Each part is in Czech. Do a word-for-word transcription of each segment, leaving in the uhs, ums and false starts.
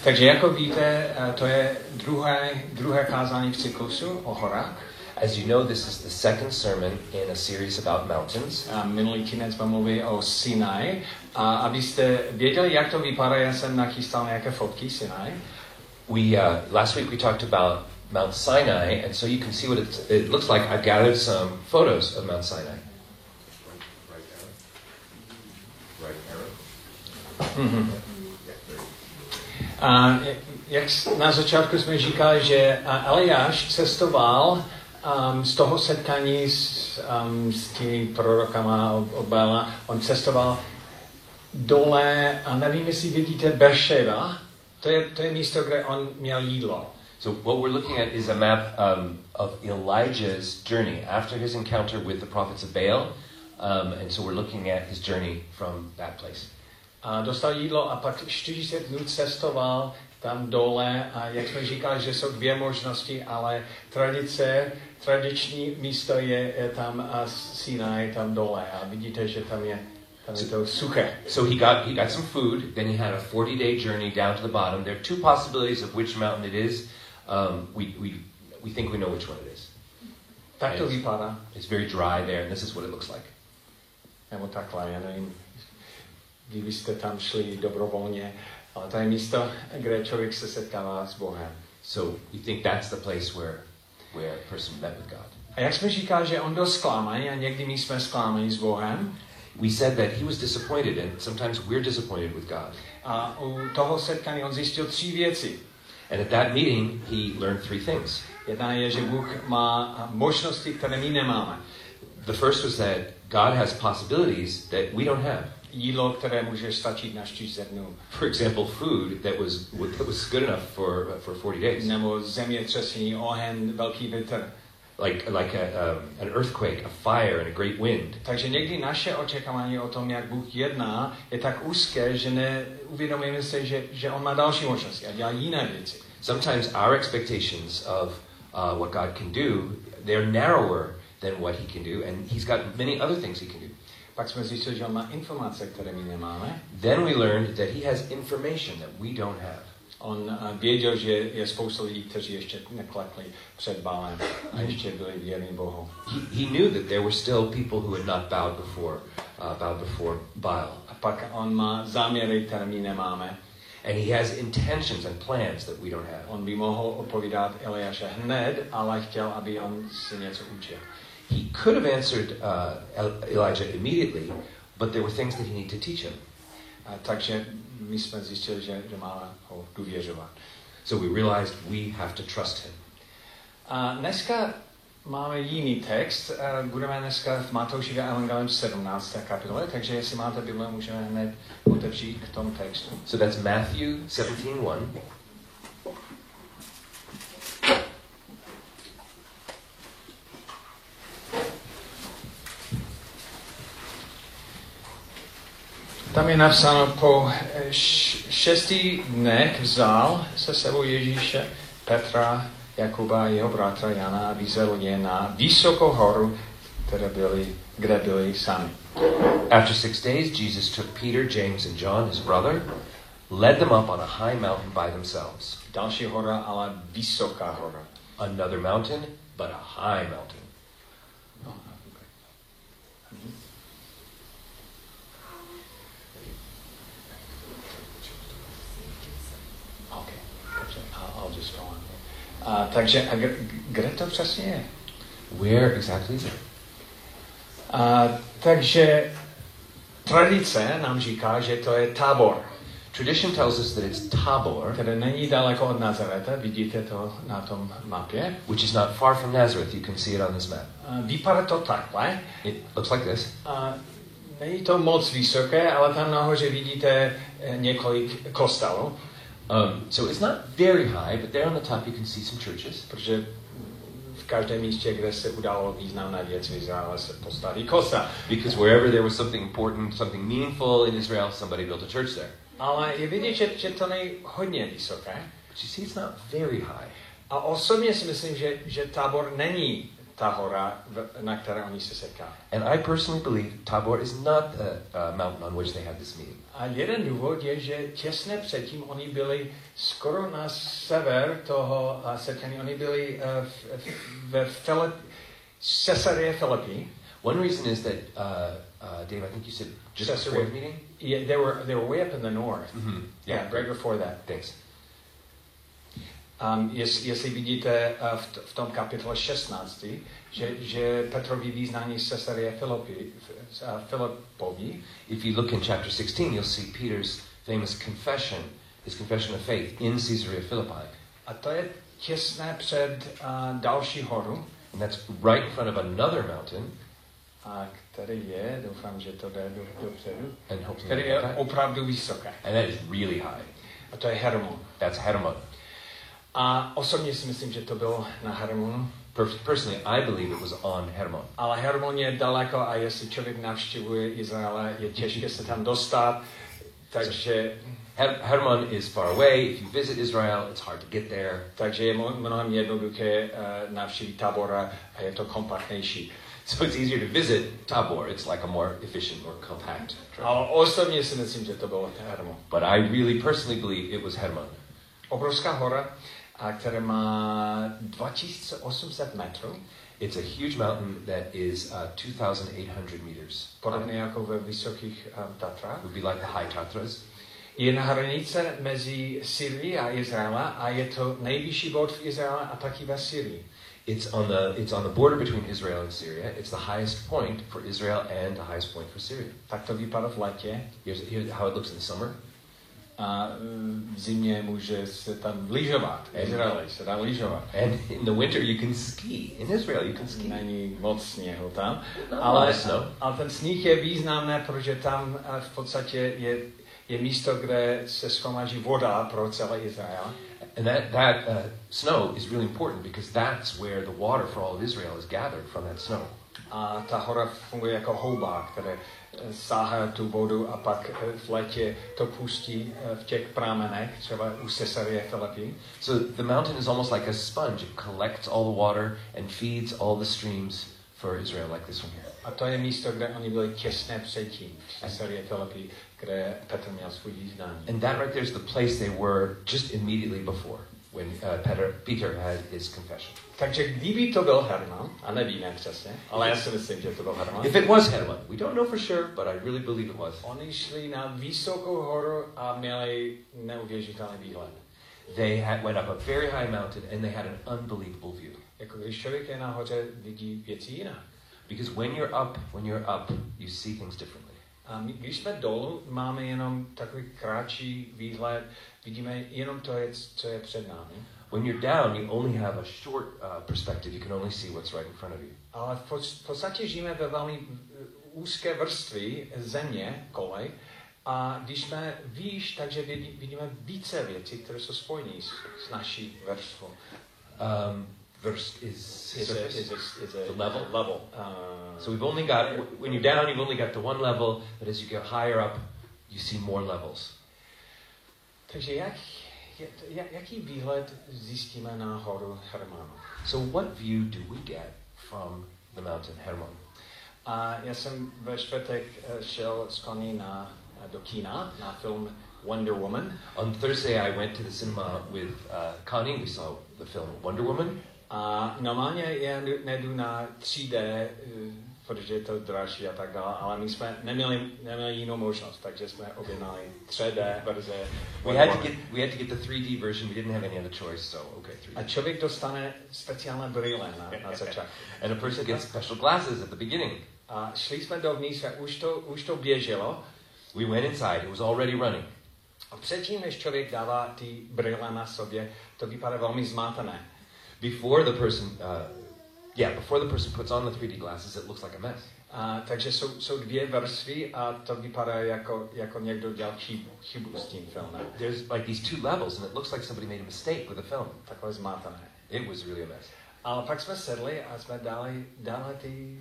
Takže jako víte, to je druhé, druhé kázání v cyklusu o horách. As you know, this is the second sermon in a series about mountains. A minulý týden jsme mluvili o Sinai. A abyste věděli, jak to vypadá, já jsem nachystal nějaké fotky Sinai. We uh, last week we talked about Mount Sinai, and so you can see what it, it looks like. I've gathered some photos of Mount Sinai. Right, right arrow. Right arrow. Mm-hmm. A jak na začátku jsme říkali, že Eliáš cestoval um, z toho setkání s, um, s těmi prorokama od Bála, on cestoval dole, a nevím, jestli vidíte Berševa, to je, to je místo, kde on měl jídlo. So what we're looking at is a map um, of Elijah's journey after his encounter with the prophets of Baal, um, and so we're looking at his journey from that place. A dostal jídlo a pak čtyřicet dnů cestoval tam dole a jak jsme říkali, že jsou dvě možnosti, ale tradice, tradiční místo je, je tam a Sinai tam dole a vidíte, že tam je, tam je to suché. So he got he got some food, then he had a forty day journey down to the bottom. There are two possibilities of which mountain it is. Um, we we we think we know which one it is. Tak to vypadá. It's very dry there, and this is what it looks like. Nebo takhle, já nevím. Kdyby jste tam šli dobrovolně, ale to je místo, kde člověk se setkává s Bohem. So we think that's the place where where a person met with God. A jak jsme říkali, že on byl zklamaný a někdy my jsme zklamaní s Bohem. We said that he was disappointed, and sometimes we're disappointed with God. A u toho setkání on zjistil tři věci. And at that meeting, he learned three things. Jedna je, že Bůh má možnosti, které my nemáme. The first was that God has possibilities that we don't have. Jídlo, které může stačit na čtyřicet dnů. For example, food that was that was good enough for for forty days. Nebo zemětřesení, oheň, velký vítr. Like like a, um, an earthquake, a fire, and a great wind. Takže někdy naše očekávání o tom, jak Bůh jedná, je tak úzké, že neuvědomujeme se, že, že on má další možnosti a dělá jiné věci. Sometimes our expectations of uh, what God can do, they're narrower than what he can do, and he's got many other things he can do. Pak jsme zjistili, že on má informace, které my nemáme. Then we learned that he has information that we don't have. On věděl, že je spousta lidí, kteří ještě neklekli před Bálem a ještě byli věrní Bohu. He, he knew that there were still people who had not bowed before, uh, bowed before Baal. A pak on má záměry, které my nemáme. And he has intentions and plans that we don't have. On by mohl odpovídat Eliáše hned, ale chtěl, aby on si něco učil. He could have answered uh, Elijah immediately, but there were things that he needed to teach him. A takže my jsme zjistili, že, že máme ho důvěřovat. So we realized we have to trust him. A dneska máme jiný text. Budeme dneska v Matoušově evangelium sedmnácté kapitole, takže jestli máte Bible, můžeme hned otevřít k tomu textu. So that's Matthew seventeen one. Tam je napsáno, po šesti dnech vzal se sebou Ježíše, Petra, Jakuba a jeho bratra Jana a vyzvedl je na vysokou horu, které byly, kde byli sami. After six days, Jesus took Peter, James, and John, his brother, led them up on a high mountain by themselves. Další hora, ale vysoká hora. Another mountain, but a high mountain. No, okay. Okay. I'll, I'll just go on. Uh, takže a kde, kde to přesně je? Where exactly is it? Uh, takže tradice nám říká, že to je Tábor. Tradition tells us that it's Tabor, které není daleko od Nazareta, vidíte to na tom mapě. which is not far from Nazareth. You can see it on this map. Uh, vypadá to takhle. It looks like this. Uh, není to moc vysoké, ale tam nahoře vidíte několik kostelů. Um, so it's not very high, but there on the top you can see some churches. Protože v každém místě, kde se udalo významná věc v Izraeli, se postaví kostel. Because wherever there was something important, something meaningful in Israel, somebody built a church there. Ale je vidět, že, že to není hodně vysoké. But you see, it's not very high. A osobně si myslím, že, že Tábor není ta hora, na které oni se setkají. And I personally believe Tabor is not the uh, mountain on which they had this meeting. A jeden důvod je, že těsně předtím oni byli skoro na sever toho setkání. Oni byli uh, ve Filip, Caesarea Philippi. One reason is that, uh, uh, Dave, I think you said just Caesarea. before the meeting? Yeah, they were, they were way up in the north. Mm-hmm. Yeah, Yeah, right before that. Thanks. Um, jest, jestli vidíte uh, v, t- v tom kapitole šestnáct, že, že Petrovi význání z Caesarea Philippi, uh, Filipovi. If you look in chapter sixteen, you'll see Peter's famous confession, his confession of faith in Caesarea Philippi. A to je těsně před uh, další horu, And that's right in front of another mountain. a který je, doufám, že to jde do, dopředu, And hopefully který je opravdu vysoké. And that is really high. A to je Hermon. That's Hermon. A osobně si myslím, že to bylo na Hermonu. Personally, I believe it was on Hermon. Ale Hermon je daleko a jestli člověk navštěvuje Izraele, je těžké se tam dostat. Takže, Her- Hermon is far away. If you visit Israel, it's hard to get there. takže je mnohem jednoduché uh, navštívit Tabora a je to kompaktnější. So it's easier to visit Tabor. It's like a more efficient, more compact trip. Ale osobně si myslím, že to bylo Hermon. But I really personally believe it was Hermon. Obrovská hora, a která má dva tisíce osm set metrů, It's a huge mountain that is uh, two thousand eight hundred meters. podobně jako ve vysokých um, Tatrách. It would be like the high Tatras. Je na hranice mezi Syrií a Izraelem a je to nejvyšší bod v Izraele a taky ve Syrii. It's on the it's on the border between Israel and Syria. It's the highest point for Israel and the highest point for Syria. Tak to vypadá v létě. Here's, here's how it looks in the summer. A v zimě může se tam lyžovat. V Izraeli se dá lyžovat. And in the winter you can ski. In Israel you can ski. Není moc sněhu tam. No, ale, snow. ale ten sníh je významný, protože tam v podstatě je, je místo, kde se shromáží voda pro celý Izrael. And that, that uh, snow is really important because that's where the water for all of Israel is gathered from that snow. A ta hora funguje jako houba, které sáhá tu vodu a pak v létě to pustí v těch pramenech, třeba u Caesarea Philippi. So the mountain is almost like a sponge. It collects all the water and feeds all the streams for Israel, like this one here. A to je místo, kde oni byli těsně předtím, v Caesarea Philippi, kde Petr měl svůj význání. And that right there is the place they were just immediately before, when uh, Peter, Peter had his confession. Takže kdyby to byl Hermon, a nevíme přesně, ale já si myslím, že to byl Hermon. If it was Hermon, we don't know for sure, but I really believe it was. Oni šli na vysokou horu a měli neuvěřitelný výhled. They had, went up a very high mountain and they had an unbelievable view. Jako když člověk je nahoře, vidí věci jinak. Because when you're up, when you're up, you see things differently. A my, když jsme dolů, máme jenom takový kratší výhled, vidíme jenom to, je, co je před námi. When you're down, you only have a short uh, perspective. You can only see what's right in front of you. Ale v, pod, v podstatě žijeme ve velmi úzké vrstvy země, kolej, a když jsme výš, takže vidí, vidíme více věcí, které jsou spojené s, s naší vrstvou. Um, Verst is, Is a, surface. is a, is a The level. level. Uh, So we've only got, when you're down, you've only got the one level, but as you get higher up, you see more levels. takže jak, jak, jaký výhled zjistíme na horu Hermonu? So what view do we get from the mountain Hermon? A já jsem ve čtvrtek šel s Connie na, do kina na film Wonder Woman. On Thursday, I went to the cinema with uh, Connie. We saw the film Wonder Woman. A normálně já nejdu na tři dé, protože je to dražší a tak dále, ale my jsme neměli, neměli jinou možnost, takže jsme objednali tři dé verze. We had to get we had to get the three D version. We didn't have any other choice, so okay, three D. A člověk dostane speciální brýle na, na začátku. And a person gets special glasses at the beginning. A šli jsme dovnitř a už to, už to běželo. We went inside. It was already running. A předtím, než člověk dává ty brýle na sobě, to vypadá velmi zmátené. Before the person, uh, yeah, before the person puts on the three D glasses, it looks like a mess. A, takže jsou, jsou dvě vrstvy a to vypadá jako, jako někdo dělal chybu, chybu s tím filmem. There's like these two levels, and it looks like somebody made a mistake with the film. Takové zmátané. It was really a mess. Ale pak jsme sedli a jsme dali, dali ty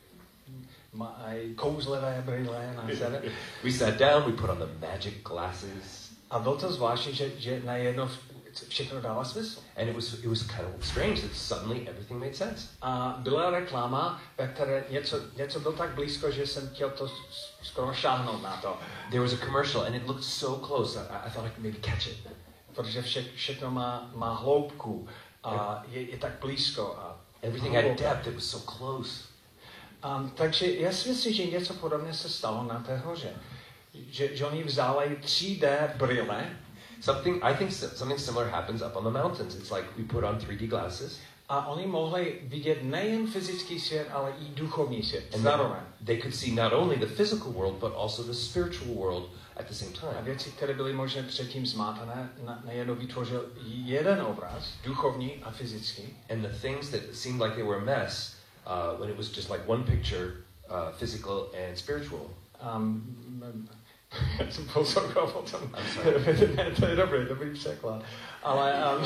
kouzlivé brýle na sebe. We sat down, we put on the magic glasses. A bylo to zvláštní, že, že najednou všechno dává smysl. And it was it was kind of strange that suddenly everything made sense. A byla reklama, ve které něco, něco bylo tak blízko, že jsem chtěl to skoro šáhnout na to. There was a commercial and it looked so close. I, I thought I could maybe catch it. Protože vše, všechno má, má hloubku a je, je tak blízko. A everything had depth, it was so close. Um, takže já si myslím, že něco podobné se stalo na té hoře. Že, že oni vzali tři dé brýle. Something, I think something similar happens up on the mountains. It's like we put on three D glasses. A oni mohli vidět nejen fyzický svět, ale i duchovní svět. Zároveň. They could see not only the physical world, but also the spiritual world at the same time. A věci, které byly možná předtím zmátané, najednou vytvořil jeden obraz, duchovní a fyzický. And the things that seemed like they were a mess, uh, when it was just like one picture, uh, physical and spiritual. Um, Já jsem poslouchal o tom. Ne, to je dobrý, dobrý překlad. Ale um,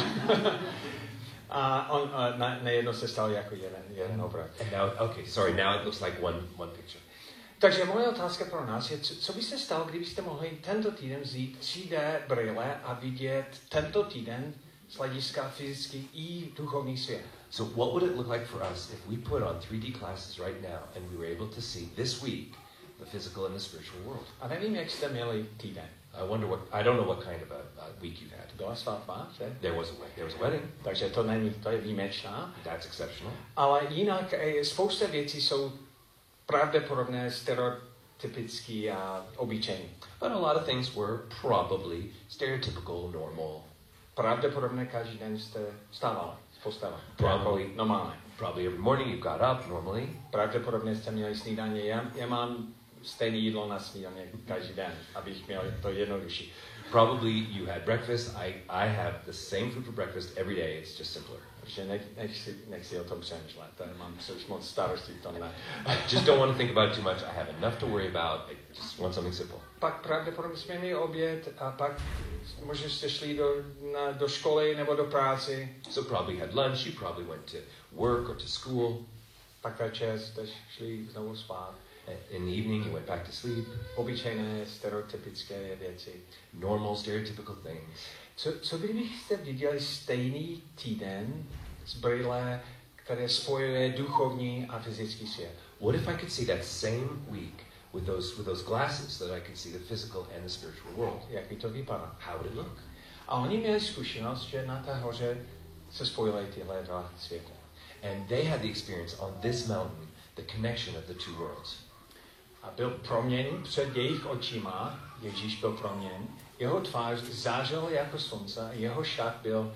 a on uh, na, nejedno se stalo jako jeden, jeden obraz. And now, okay, sorry, now it looks like one, one picture. Takže moje otázka pro nás je, co, co by se stalo, kdybyste mohli tento týden vzít tři dé brýle a vidět tento týden z hlediska fyzický i duchovní svět. So what would it look like for us if we put on three D glasses right now and we were able to see this week the physical and the spiritual world? A nevím, jak jste měli týden. I wonder what, I don't know what kind of a, a week you've had. Byla svatba, že? There was a, there was a wedding. Takže to není, to je výjimečná. That's exceptional. Ale jinak spousta věcí jsou pravděpodobné, stereotypické a obyčejné. But a lot of things were probably stereotypical, normal. Pravděpodobně každý den jste vstávali z postele. Probably. Normálně. Probably every morning you got up normally. Pravděpodobně jste měli snídaně. Já, já mám stejné jídlo na snídaně každý den, abych měl to jednodušší. Probably you had breakfast. I, I have the same food for breakfast every day. It's just simpler. Protože nech, nech, si, nech si o tom přemýšlet. Mám už moc starostí v tom ne. I just don't want to think about it too much. I have enough to worry about. I just want something simple. Pak pravděpodobně jsme měli oběd a pak možná jste šli do, na, do školy nebo do práce. So probably had lunch. You probably went to work or to school. Pak večer jste šli znovu spát. In the evening you went back to sleep. Obyčejné, stereotypické věci. Normal, stereotypical things. Co, co kdybyste viděli stejný týden z brýle, které spojuje duchovní a fyzický svět? What if I could see that same week with those with those glasses so that I could see the physical and the spiritual world? Jak by to vypadalo? How would it look? A oni měli zkušenost, že na té hoře se spojily tyhle dva světy. And they had the experience on this mountain, the connection of the two worlds. A byl proměněn před jejich očima, Ježíš byl proměněn, jeho tvář zářila jako slunce, jeho šat byl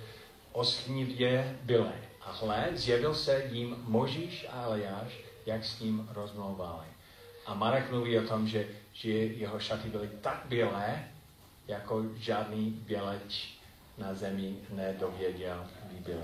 oslnivě bílý. A hle, zjevil se jim Mojžíš a Eliáš, jak s ním rozmlouvali. A Marek mluví o tom, že, že jeho šaty byly tak bílé, jako žádný běleč na zemi nedověděl, by byly.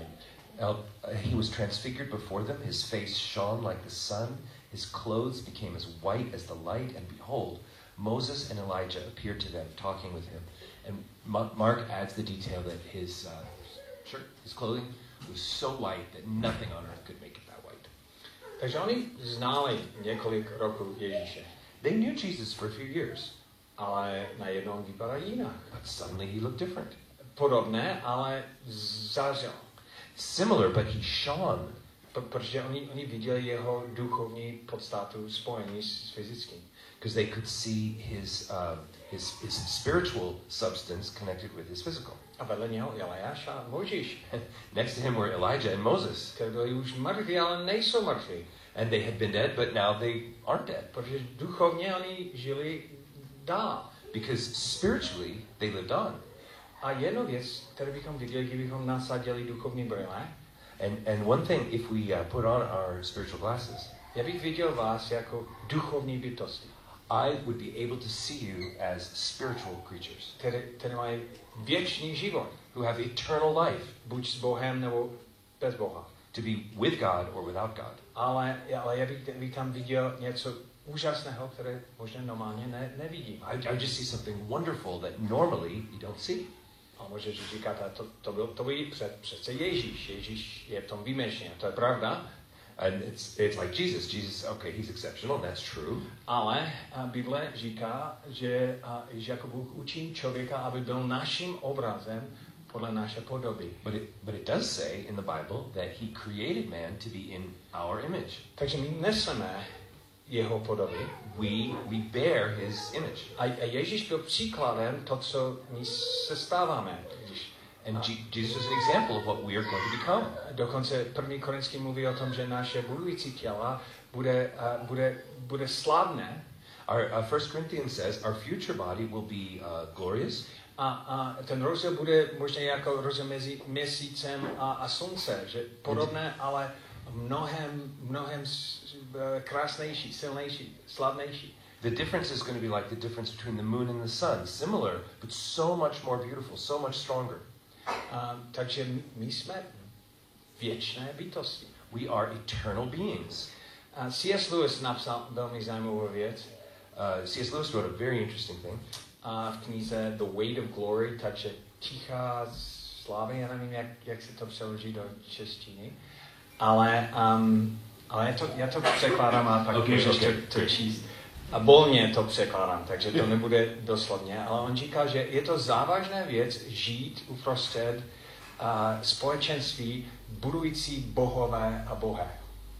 He was transfigured before them, his face shone like the sun, his clothes became as white as the light, and behold, Moses and Elijah appeared to them, talking with him. And Mark adds the detail that his uh, shirt, his clothing, was so white that nothing on earth could make it that white. Takže oni znali několik roků Ježíše. They knew Jesus for a few years. Ale najednou vypadá jinak. But suddenly he looked different. Podobné, ale zářil. Similar, but he shone. Protože oni, oni viděli jeho duchovní podstatu spojení s fyzickým. Because they could see his, uh, his, his spiritual substance connected with his physical. A vedle něho Eliáš a Mojžíš. Next to him were Elijah and Moses. Kteří byli už mrtví, ale nejsou mrtví. And they had been dead, but now they aren't dead. Protože duchovně oni žili dál. Because spiritually they lived on. A jednu věc, kterou bychom viděli, kdybychom nasadili duchovní brýle, And, and one thing, if we uh, put on our spiritual glasses, já bych viděl vás jako duchovní bytosti. I would be able to see you as spiritual creatures. Které, které mají věčný život. Who have eternal life. Buď s Bohem nebo bez Boha. To be with God or without God. Ale, ale já bych, bych tam viděl něco úžasného, které možná normálně ne, nevidím. I, I just see something wonderful that normally you don't see. A můžeš říkat, to, to byl to byl před, přece Ježíš. Ježíš je v tom výjimečný, to je pravda. And it's, it's like Jesus. Jesus, okay, he's exceptional, that's true. Ale a Bible říká, že, a, že jako Bůh učí člověka, aby byl naším obrazem podle naše podoby. But it, but it does say in the Bible that he created man to be in our image. Takže my neseme jeho podoby. We, we bear his image. A, a Ježíš byl příkladem to, co my se stáváme. And G- Jesus is an example of what we are going to become. Dokonce první Korinský mluví o tom, že naše budující těla bude, uh, bude, bude slavné. Our uh, First Corinthians says our future body will be uh, glorious. A, a ten rozdíl bude možná jako rozdíl mezi měsícem a, a slunce, že podobné, ale mnohem, mnohem krásnější, silnější, slavnější. The difference is going to be like the difference between the moon and the sun. Similar, but so much more beautiful, so much stronger. Uh, takže my jsme věčné bytosti. We are eternal beings. Uh, C S Lewis napsal velmi zajímavou věc. Uh, C S Lewis wrote a very interesting thing. A v knize The Weight of Glory, takže tichá slávy, já nevím, jak, jak se to přeloží do češtiny, ale, um, ale já, to, já to překládám a pak okay, můžeš okay. to, to číst. A volně to překládám, takže to nebude doslovně, ale on říká, že je to závažná věc žít uprostřed uh, společenství budující bohové a bohé.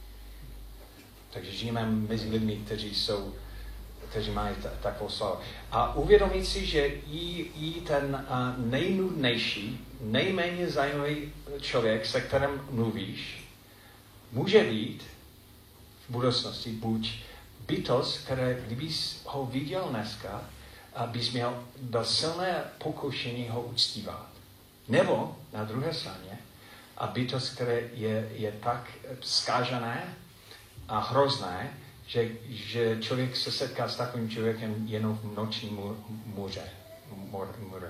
Takže žijeme mezi lidmi, kteří jsou kteří mají t- takovou slavu. A uvědomit si, že i, i ten uh, nejnudnější, nejméně zajímavý člověk, se kterým mluvíš, může být v budoucnosti buď bytost, které kdybys ho viděl dneska, bys měl do silné pokušení ho uctívat. Nebo na druhé straně, a bytost, které je, je tak zkážené a hrozné, Že, že člověk se setká s takovým člověkem jenom v noční můře. můře.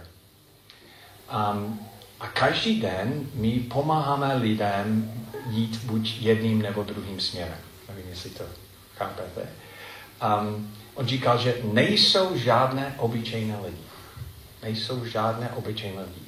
Um, a každý den my pomáháme lidem jít buď jedním nebo druhým směrem. Nevím, jestli to chápete. Um, on říkal, že nejsou žádné obyčejné lidi. Nejsou žádné obyčejné lidi.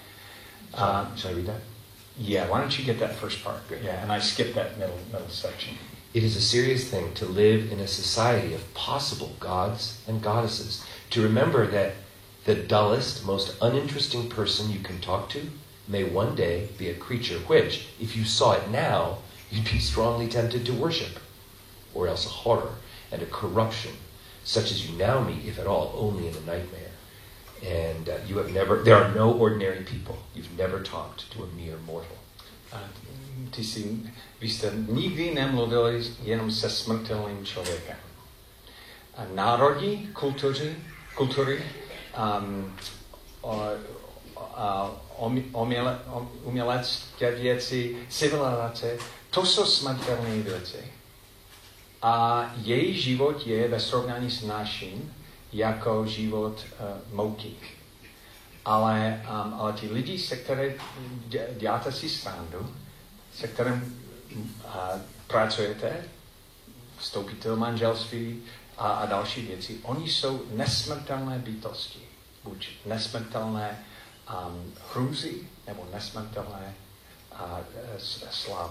Uh, Shall I read that? Yeah, why don't you get that first part? Yeah, and I skipped that middle middle section. It is a serious thing to live in a society of possible gods and goddesses. To remember that the dullest, most uninteresting person you can talk to may one day be a creature which, if you saw it now, you'd be strongly tempted to worship. Or else a horror and a corruption, such as you now meet, if at all, only in a nightmare. And uh, you have never, there are no ordinary people. You've never talked to a mere mortal. A ty jsi, vy jste nikdy nemluvili jenom se smrtelným člověkem. A národy, kultury, kultury um, o, o, uměle, umělecké věci, civilizace, to jsou smrtelné věci. A její život je ve srovnání s naším jako život uh, moukých. Ale, um, ale ti lidi, se které děláte si srandu, se kterým uh, pracujete, vstoupíte do manželství a, a další věci, oni jsou nesmrtelné bytosti. Buď nesmrtelné um, hrůzy, nebo nesmrtelné uh, slávy.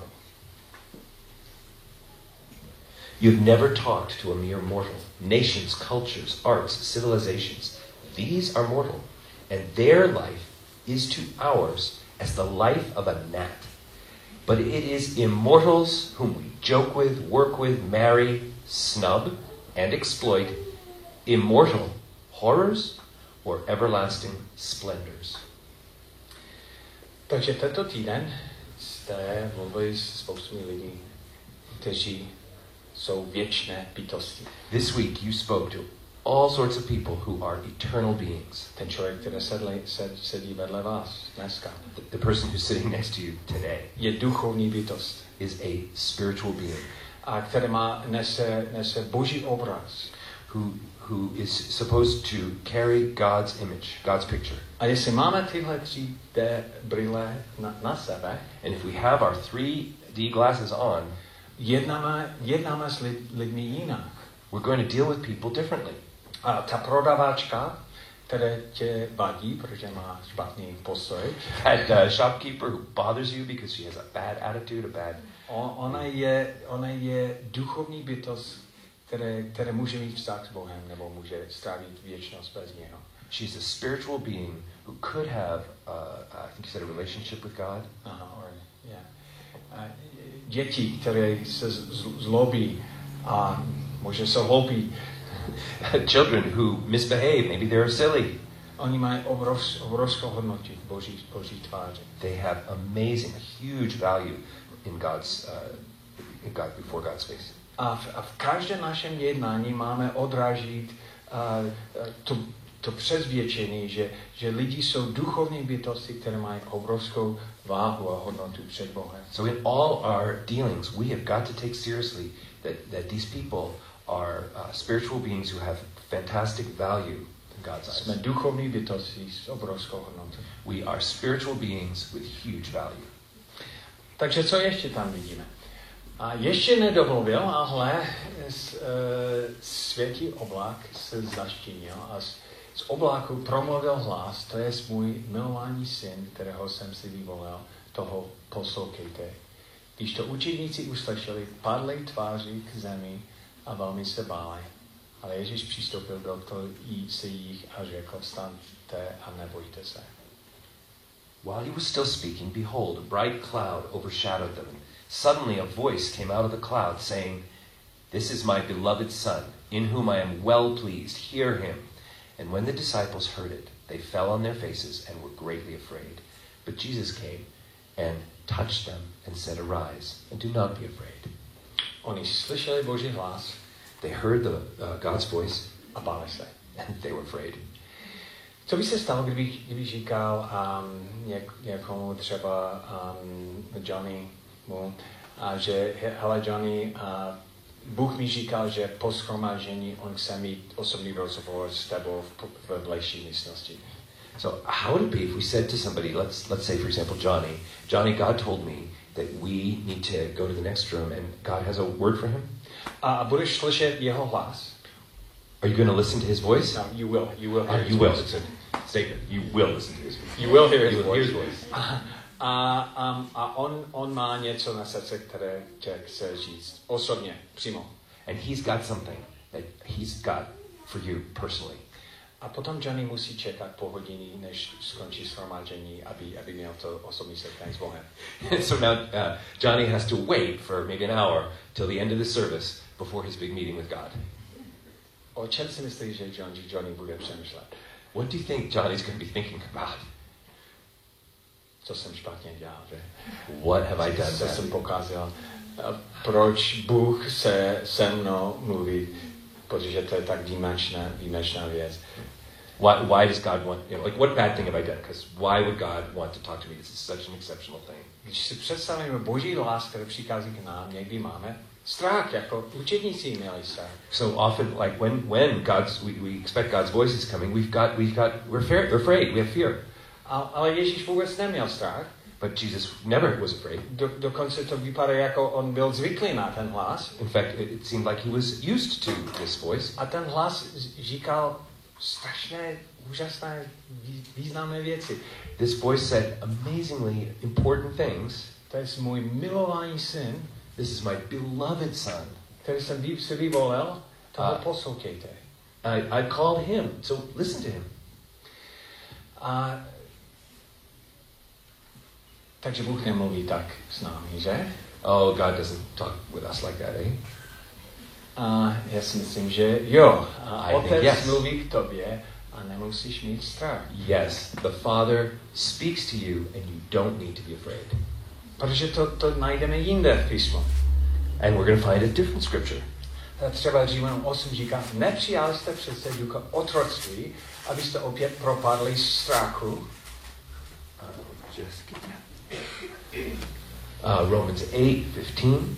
You've never talked to a mere mortal. Nations, cultures, arts, civilizations, these are mortal. And their life is to ours as the life of a gnat. But it is immortals whom we joke with, work with, marry, snub, and exploit, immortal horrors or everlasting splendors. Takže tento týden jste mluvili s spoustou lidí, kteří jsou věčné bytosti. This week you spoke to all sorts of people who are eternal beings. Ten člověk, který sedli, sed, sedí vedle vás dneska, The, the person who's sitting next to you today je duchovní bytost. is a spiritual being A který má, nese, nese boží obraz. who, who is supposed to carry God's image, God's picture. A jestli máme tyhle tři D brýle na, na sebe, And if we have our three D glasses on, jednáme, jednáme s lid, lidmi jinak. we're going to deal with people differently. A ta prodavačka, která tě vadí, protože má špatný postoj, That uh, shopkeeper who bothers you because she has a bad attitude, a bad... o, ona, je, ona je duchovní bytost, které, které může mít vztah s Bohem, nebo může strávit věčnost bez něho. She's a spiritual being who could have, uh, I think you said, a relationship with God. Aha, or, yeah. A děti, které se z- zlobí a možná jsou hloupí. Children who misbehave, maybe they're silly. Oni mají obrovs, obrovskou hodnotu v Boží, Boží tváři. They have amazing, huge value in God's, uh, in God, before God's face. A v, a v každém našem jednání máme odrážit uh, to, to přesvědčení, že, že lidi jsou duchovní bytosti, které mají obrovskou váhu a hodnotu před Bohem. So in all our dealings, we have got to take seriously that, that these people are uh, spiritual beings who have fantastic value in God's eyes. Jsme duchovní bytosti s obrovskou hodnotou. We are spiritual beings with huge value. Takže co ještě tam vidíme? A ještě nedovolil, ale z, e, světý oblak se zaštínil a z, z obláku promluvil hlas, to je můj milovaný syn, kterého jsem si vyvolil, toho poslouchejte. Když to učedníci uslyšeli, padli tváří k zemi a velmi se báli. Ale Ježíš přistoupil do toho se jich a řekl, vstaňte a nebojte se. While he was still speaking, behold, a bright cloud overshadowed them. Suddenly a voice came out of the cloud saying, "This is my beloved Son, in whom I am well pleased. Hear him." And when the disciples heard it, they fell on their faces and were greatly afraid. But Jesus came and touched them and said, "Arise, and do not be afraid." Oni slyšeli Boží hlas They heard the, uh, God's voice a báli se. and they were afraid. Co by se stalo, kdyby, kdyby říkal um, něk, někomu třeba um, Johnny mu, a že hele Johnny, uh, Bůh mi říkal, že po shromáždění on chce mít osobní rozhovor s tebou v, v blížší místnosti. So how would it be if we said to somebody, let's let's say for example Johnny, Johnny, God told me that we need to go to the next room and God has a word for him? A, a budeš slyšet jeho hlas. Are you going to listen to his voice? No, you will. You will hear Uh, his you will. voice. It's a statement. You will listen to his voice. You will hear his You will voice. hear his voice. A, a, um, a on, on má něco na srdce, které tě chce říct. Osobně, přímo. And he's got something that he's got for you personally. A potom Johnny musí čekat po hodině, než skončí shromáždění, aby, aby měl to osobní setkání s Bohem. So now uh, Johnny has to wait for maybe an hour till the end of the service before his big meeting with God. O čem si myslíš, že Johnny, Johnny bude přemýšlet? What do you think Johnny's going to be thinking about? Co jsem špatně dělal, že? What have I done Co bad? jsem pokazil? A proč Bůh se se mnou mluví? Protože to je tak výjimečná, výjimečná věc. Why, why does God want, you know, like what bad thing have I done? Because why would God want to talk to me? This is such an exceptional thing. Když si představíme Boží lásku, který přichází k nám, někdy máme strach, jako učedníci měli strach. So often, like when when God's we, we expect God's voice is coming, we've got we've got we're, fear, we're afraid. We have fear. A, ale Ježíš vůbec neměl strach. But Jesus never was afraid. Do, dokonce to vypadá, jako on byl zvyklý na ten hlas. In fact, it, it seemed like he was used to this voice. A ten hlas říkal strašné, úžasné, významné věci. This voice said amazingly important things. To je můj milovaný syn, This is my beloved son. který jsem si vyvolil, toho A- poslouchejte. I, I called him, so listen to him. A takže Bůh nemluví tak s námi, že? Oh, God doesn't talk with us like that, eh? A já si myslím, že jo. A I think Otec yes. mluví k tobě a nemusíš mít strach. Yes, the Father speaks to you and you don't need to be afraid. Protože to, to najdeme jinde v písmu. And we're going to find a different scripture. A třeba Římanům osm říká, nepřijali jste přece ducha otroctví, abyste opět propadli strachu. Uh, just get that. Uh, Romans eight fifteen.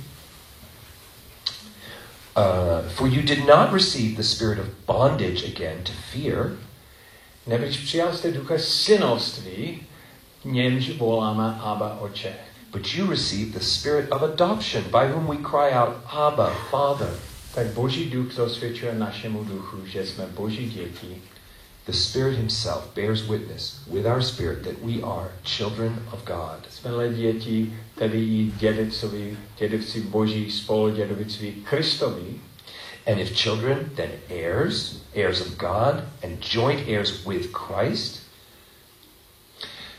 Uh, for you did not receive the spirit of bondage again to fear. Neboť přijali jste ducha synovství, němž voláme Abba, Otče. But you received the spirit of adoption, by whom we cry out, Abba, Father. Tak Boží duch dosvědčuje našemu duchu, že jsme Boží děti. The Spirit himself bears witness with our spirit that we are children of God. Jsme děti, tedy i dědictví, dědictví Boží, spoludědictví Kristovi. And if children, then heirs, heirs of God, and joint heirs with Christ.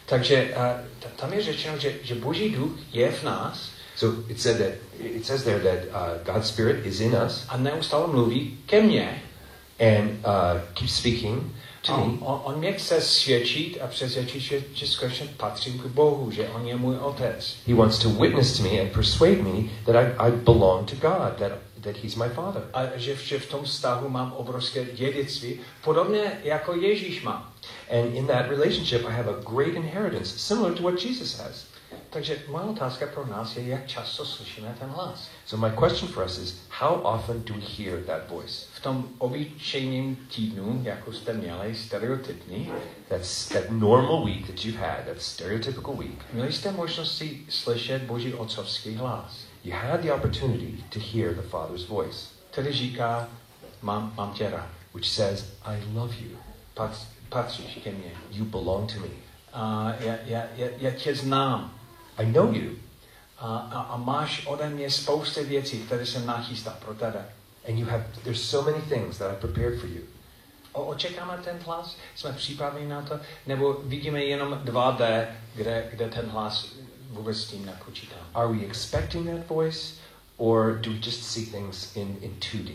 Takže uh, tam je řečeno, že, že Boží duch je v nás. So it said that it says there that uh, God's Spirit is in us. A neustále mluví ke mně. And uh, keeps speaking to on, me. On, on mě chce svědčit a přesvědčit, že, že skutečně patřím k Bohu, že on je můj otec. He wants to witness to me and persuade me that I, I belong to God, that, that He's my Father. A že, že v tom vztahu mám obrovské dědictví, podobně jako Ježíš má. And in that relationship I have a great inheritance, similar to what Jesus has. Takže moje otázka pro nás je, jak často slyšíme ten hlas. So my question for us is, how often do we hear that voice? V tom obyčejném týdnu, jako jste měli, stereotypní, That's that normal week that you've had, that stereotypical week. měli jste možnost si slyšet Boží otcovský hlas. You had the opportunity to hear the Father's voice, Který říká, mám, mám tě rád. which says, I love you. Pat, patříš ke mně. You belong to me. A já, já, já, já tě znám. I know you. A, a, a máš ode mě spousty věcí, které jsem nachystal pro tebe. And you have, there's so many things that I prepared for you. O, očekáme ten hlas? Jsme připraveni na to? Nebo vidíme jenom dva dé, kde, kde ten hlas vůbec s tím nepočítá? Are we expecting that voice, or do we just see things in, in two D?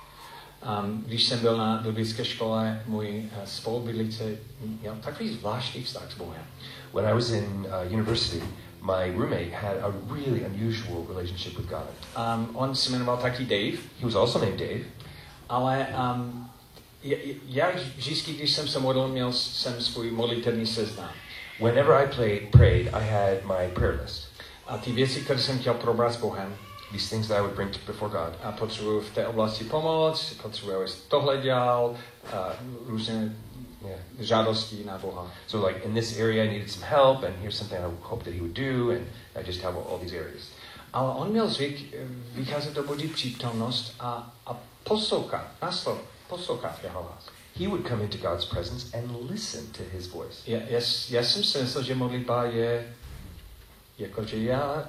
Um, když jsem byl na biblické škole, můj uh, spolubydlící měl takový zvláštní vztah s Bohem. When I was in uh, university, my roommate had a really unusual relationship with God. Um, on se jmenoval taky Dave, He was also named Dave, ale um, já vždycky, když jsem se modlil, měl jsem svůj modlitevní seznam. whenever I played, prayed, I had my prayer list. A ty věci, které jsem chtěl probrat s Bohem, These things that I would bring to, before God. a potřebuji v té oblasti pomoc, potřebuji, abys tohle dělal, a různé Yeah. žádosti na Boha. So like in this area I needed some help, and here's something I hope that He would do, and I just have all these areas. Ale on měl zvyk vycházet do Boží přítomnost a, a poslouchat, naslov, poslouchat jeho hlas. He would come into God's presence and listen to His voice. Já, já, já jsem si myslel, že modlitba je jakože já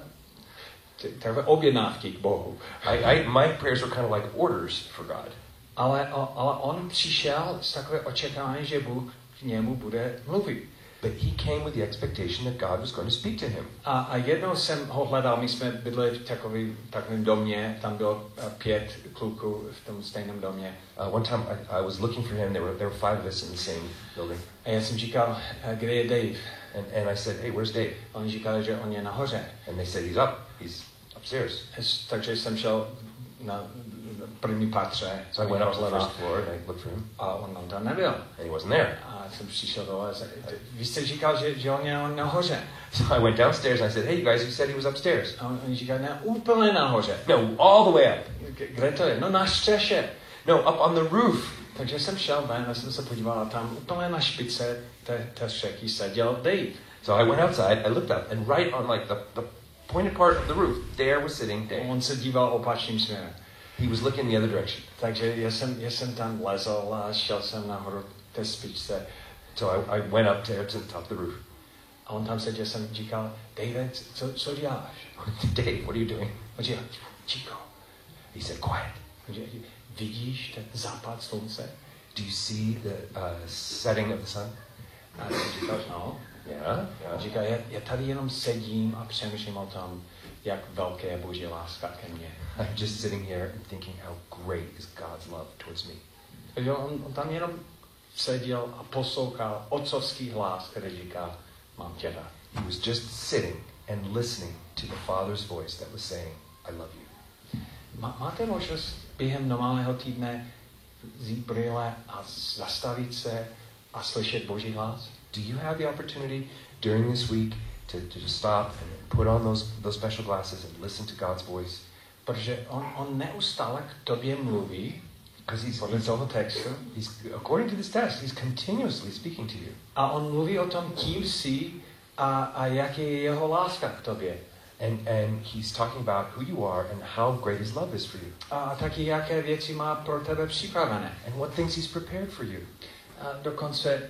takové objednávky k Bohu. I, I, my prayers were kind of like orders for God. Ale, ale on přišel s takové očekávání, že Bůh k němu bude mluvit. But he came with the expectation that God was going to speak to him. A, a jednou jsem ho hledal, my jsme bydleli v takový, takovém domě, tam bylo uh, pět kluků v tom stejném domě. Uh, one time I, I was looking for him, there were, there were five of us in the same building. A já jsem říkal, kde je Dave? And, and I said, hey, where's Dave? A oni říkali, že on je nahoře. And they said, he's up, he's upstairs. Takže jsem šel na první patře. So I went up to the first floor and I looked for him. A on tam nebyl. And he wasn't there. A jsem přišel dole. Vy jste říkal, že, že on je nahoře. So I went downstairs and I said, hey, you guys, you said he was upstairs. A oni říkali, ne, úplně nahoře. No, all the way up. Kde to je? No na střeše. No, up on the roof. Takže jsem šel ven a jsem se podíval a tam úplně na špice té, té střechy seděl Dave. So I went outside, I looked up, and right on like the, the pointed part of the roof, there was sitting Dave. On se díval opačným směrem. He was looking the other direction. Takže já jsem, já jsem tam lezl a šel jsem nahoru té špičce. So I, I went up there to the top of the roof. A on tam seděl, jsem říkal, David, co, co děláš? Dave, what are you doing? On říkal, ticho. He said, quiet. On říkal, vidíš ten západ slunce? Do you see the uh, setting of the sun? A jsem říkal, no. Yeah. On yeah. říkal, já, já tady jenom sedím a přemýšlím o tom, jak velké je Boží láska ke mně. I'm just sitting here and thinking how great is God's love towards me. Takže on, on tam jenom seděl a poslouchal otcovský hlas, který říká, mám tě rád. He was just sitting and listening to the Father's voice that was saying, I love you. Má, máte možnost během normálního týdne vzít brýle a zastavit se a slyšet Boží hlas? Do you have the opportunity during this week to, to just stop and put on those, those special glasses and listen to God's voice? Protože on, on neustále k tobě mluví, Because he's, podle toho textu, he's, according to this text, he's continuously speaking to you. a on mluví o tom, kým jsi a, a jak je jeho láska k tobě. And, and he's talking about who you are and how great his love is for you. A taky jaké věci má pro tebe připravené. And what things he's prepared for you. A dokonce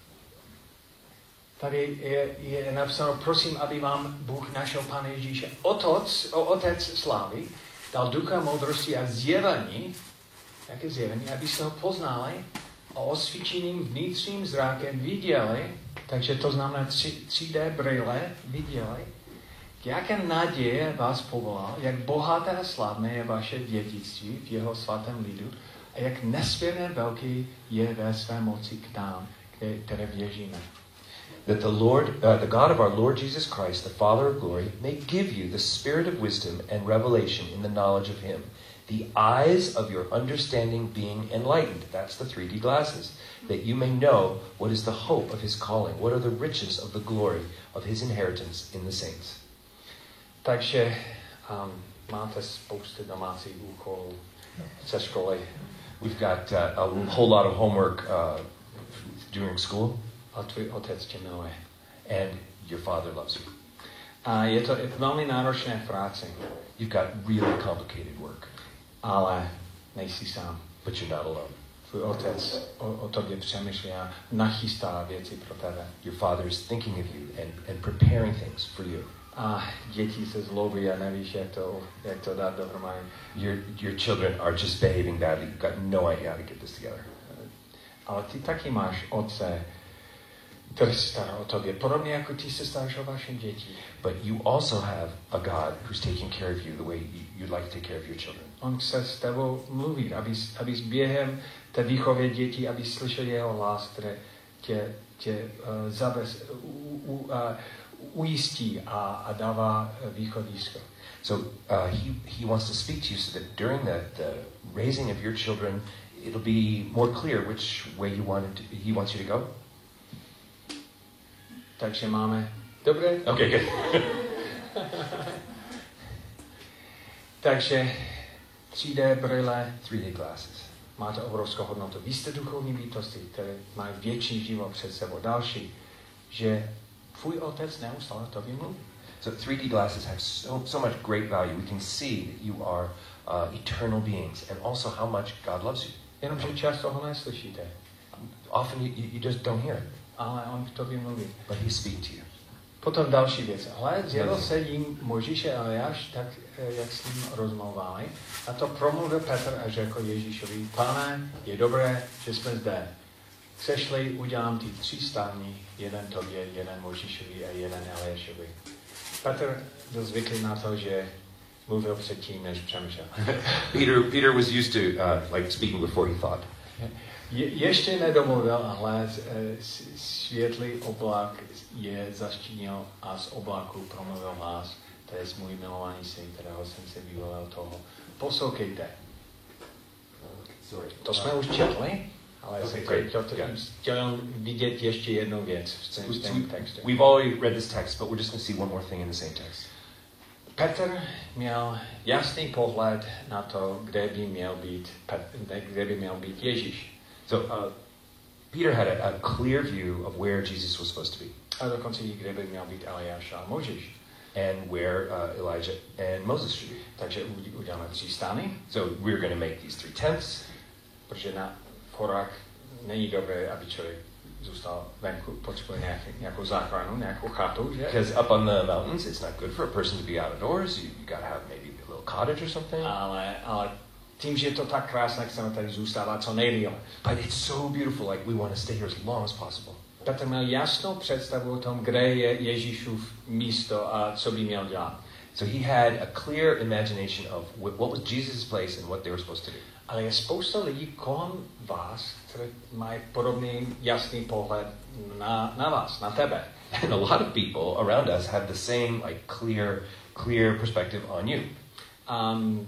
tady je, je napsáno, prosím, aby vám Bůh našeho Pána Ježíše, Otec, Otec slávy, dal ducha moudrosti a zjevení, jaké zjevení, aby se ho poznali a osvíčeným vnitřním zrákem viděli Takže to znamená tři dé brýle viděli, jaké naděje vás povolal, jak bohaté a slavné je vaše dědictví v jeho svatém lidu a jak nesmírně velký je ve své moci k nám, které věříme. That the Lord, uh, the God of our Lord Jesus Christ, the Father of glory, may give you the spirit of wisdom and revelation in the knowledge of him, the eyes of your understanding being enlightened. That's the three D glasses. That you may know what is the hope of his calling, what are the riches of the glory of his inheritance in the saints. Takže um, máte spoustu domácích úkolů ze školy. We've got uh, a whole lot of homework uh, during school. A tvůj otec tě miluje. And your father loves you. A je to velmi náročné práce. You've got really complicated work. Ale nejsi sám. But you're not alone. Tvůj otec o, o tobě přemýšlí a nachystá věci pro tebe. Your father is thinking of you and, and preparing things for you. A děti se zlobí a nevíš, jak to, jak to dát dohromady. Your, your children are just behaving badly. You've got no idea how to get this together. Ale ty taky máš otce, který se stará o tobě, podobně jako ty se staráš o vaše děti. But you also have a God who's taking care of you the way you'd like to take care of your children. On chce s tebou mluvit, abys, abys během té výchovy dětí, abys slyšel jeho hlas, který tě, tě uh, zabez, u, u, uh, ujistí a, a dává východisko. So uh, he, he wants to speak to you so that during the, the raising of your children, it'll be more clear which way you want to, he wants you to go. Takže máme... Dobré? Okay, good. Takže tři dé brýle, three D glasses. máte obrovskou hodnotu. Vy jste duchovní bytosti, které mají věčný život před sebou. Další, že tvůj otec neustále tobě mluví. So three D glasses have so, so much great value. We can see that you are uh, eternal beings and also how much God loves you. Jenomže často ho neslyšíte. Often you, you just don't hear it. Ale on k tobě mluví. But he speaks to you. Potom další věc. Hle, dělo se jim Mojžíše a Eliáš, tak jak s ním rozmlouvali. A to promluvil Petr a řekl Ježíšovi, Pane, je dobré, že jsme zde. Chceš-li, udělám ty tři stání, jeden tobě, jeden Mojžíšovi a jeden Eliášovi. Petr byl zvyklý na to, že mluvil předtím, než přemýšlel. Peter, Peter was used to uh, like speaking before he thought. Je, ještě nedomluvil, ale světlý oblak je zaštínil a z oblaku promluvil hlas. To je můj milovaný syn, kterého jsem si vyvolil toho. Poslouchejte. Sorry. To jsme už četli, ale Okay, jsem great. chtěl, Yeah. chtěl vidět ještě jednu věc v tom stejném textu. We've already read this text, but we're just going to see one more thing in the same text. Petr měl jasný pohled na to, kde by měl být, kde by měl být Ježíš. So uh, Peter had a, a clear view of where Jesus was supposed to be. A dokonce i kde by měl být Eliáš a Mojžíš. And where uh, Elijah and Moses should be. Takže uděláme tři stány. So we're going to make these three tents. Protože na horách není dobré, aby člověk zůstal venku, potřebuje nějaký, nějakou záchranu, nějakou chatu, že? Because up on the mountains, it's not good for a person to be outdoors. You, you got to have maybe a little cottage or something. Ale, ale tím, že je to tak krásné, chceme tady zůstávat co nejdýle. But it's so beautiful, like we want to stay here as long as possible. Petr měl jasnou představu o tom, kde je Ježíšův místo a co by měl dělat. So he had a clear imagination of what was Jesus' place and what they were supposed to do. Ale je spousta lidí kolem vás, kteří mají podobný jasný pohled na, na vás, na tebe. And a lot of people around us have the same like clear, clear perspective on you. Um,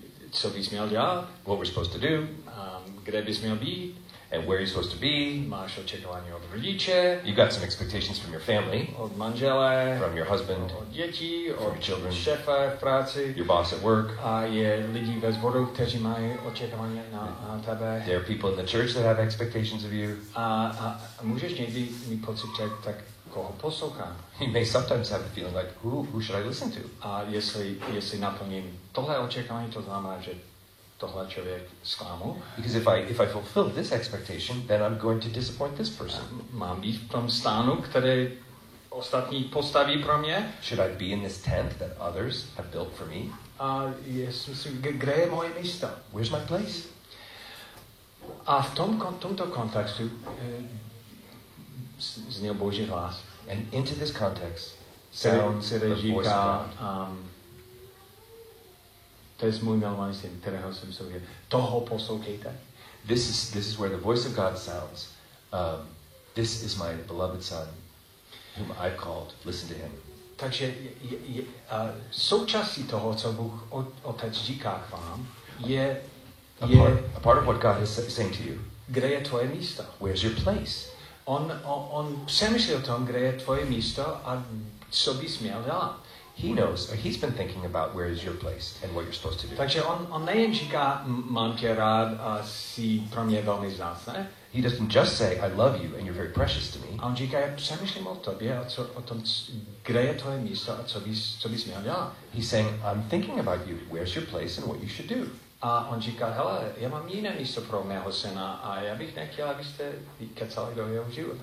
co bys měl dělat? What we're supposed to do. Um, kde bys měl být? And where you're supposed to be. Máš očekávání od rodiče. You've got some expectations from your family. Od manžele. From your husband. Od dětí. From od your children. šéfa v práci. Your boss at work. A je lidí ve sboru, kteří mají očekávání na, na tebe. There are people in the church that have expectations of you. A, a, a můžeš někdy mít pocit, že tak koho poslouchám. You may sometimes have the feeling like, who, who should I listen to? A jestli, jestli naplním tohle očekávání, to znamená, že tohle člověk zklamu. Because if I if I fulfill this expectation, then I'm going to disappoint this person. Mám být v tom stánu, který ostatní postaví pro mě. Should I be in this tent that others have built for me? A jestli, kde je moje místo? Where's my place? A v tom, tomto kontextu zněl Boží hlas. And into this context Který, sounds který the voice of říká, God. um, to je můj milovaný syn, kterého jsem soudil. Toho poslouchejte. This is this is where the voice of God sounds. Um, this is my beloved son, whom I've called. Listen to him. Takže je, je, uh, součástí toho, co Bůh o, Otec říká k vám, je, A je part, a part of what God is saying to you. kde je tvoje místo. Where's your place? On, on, on přemýšlí o tom, kde je tvoje místo a co bys měl dělat. He knows. He's been thinking about where is your place and what you're supposed to do. Takže on, on nejen říká, mám tě rád a jsi pro mě velmi vzácný. He doesn't just say, I love you and you're very precious to me. A on říká, já přemýšlím o tobě a co, o tom, kde je tvoje místo a co bys, co bys měl dělat. He's saying, I'm thinking about you. Where's your place and what you should do? A on říká, hele, já mám jiné místo pro mého syna a já bych nechtěl, abyste kecali do jeho života.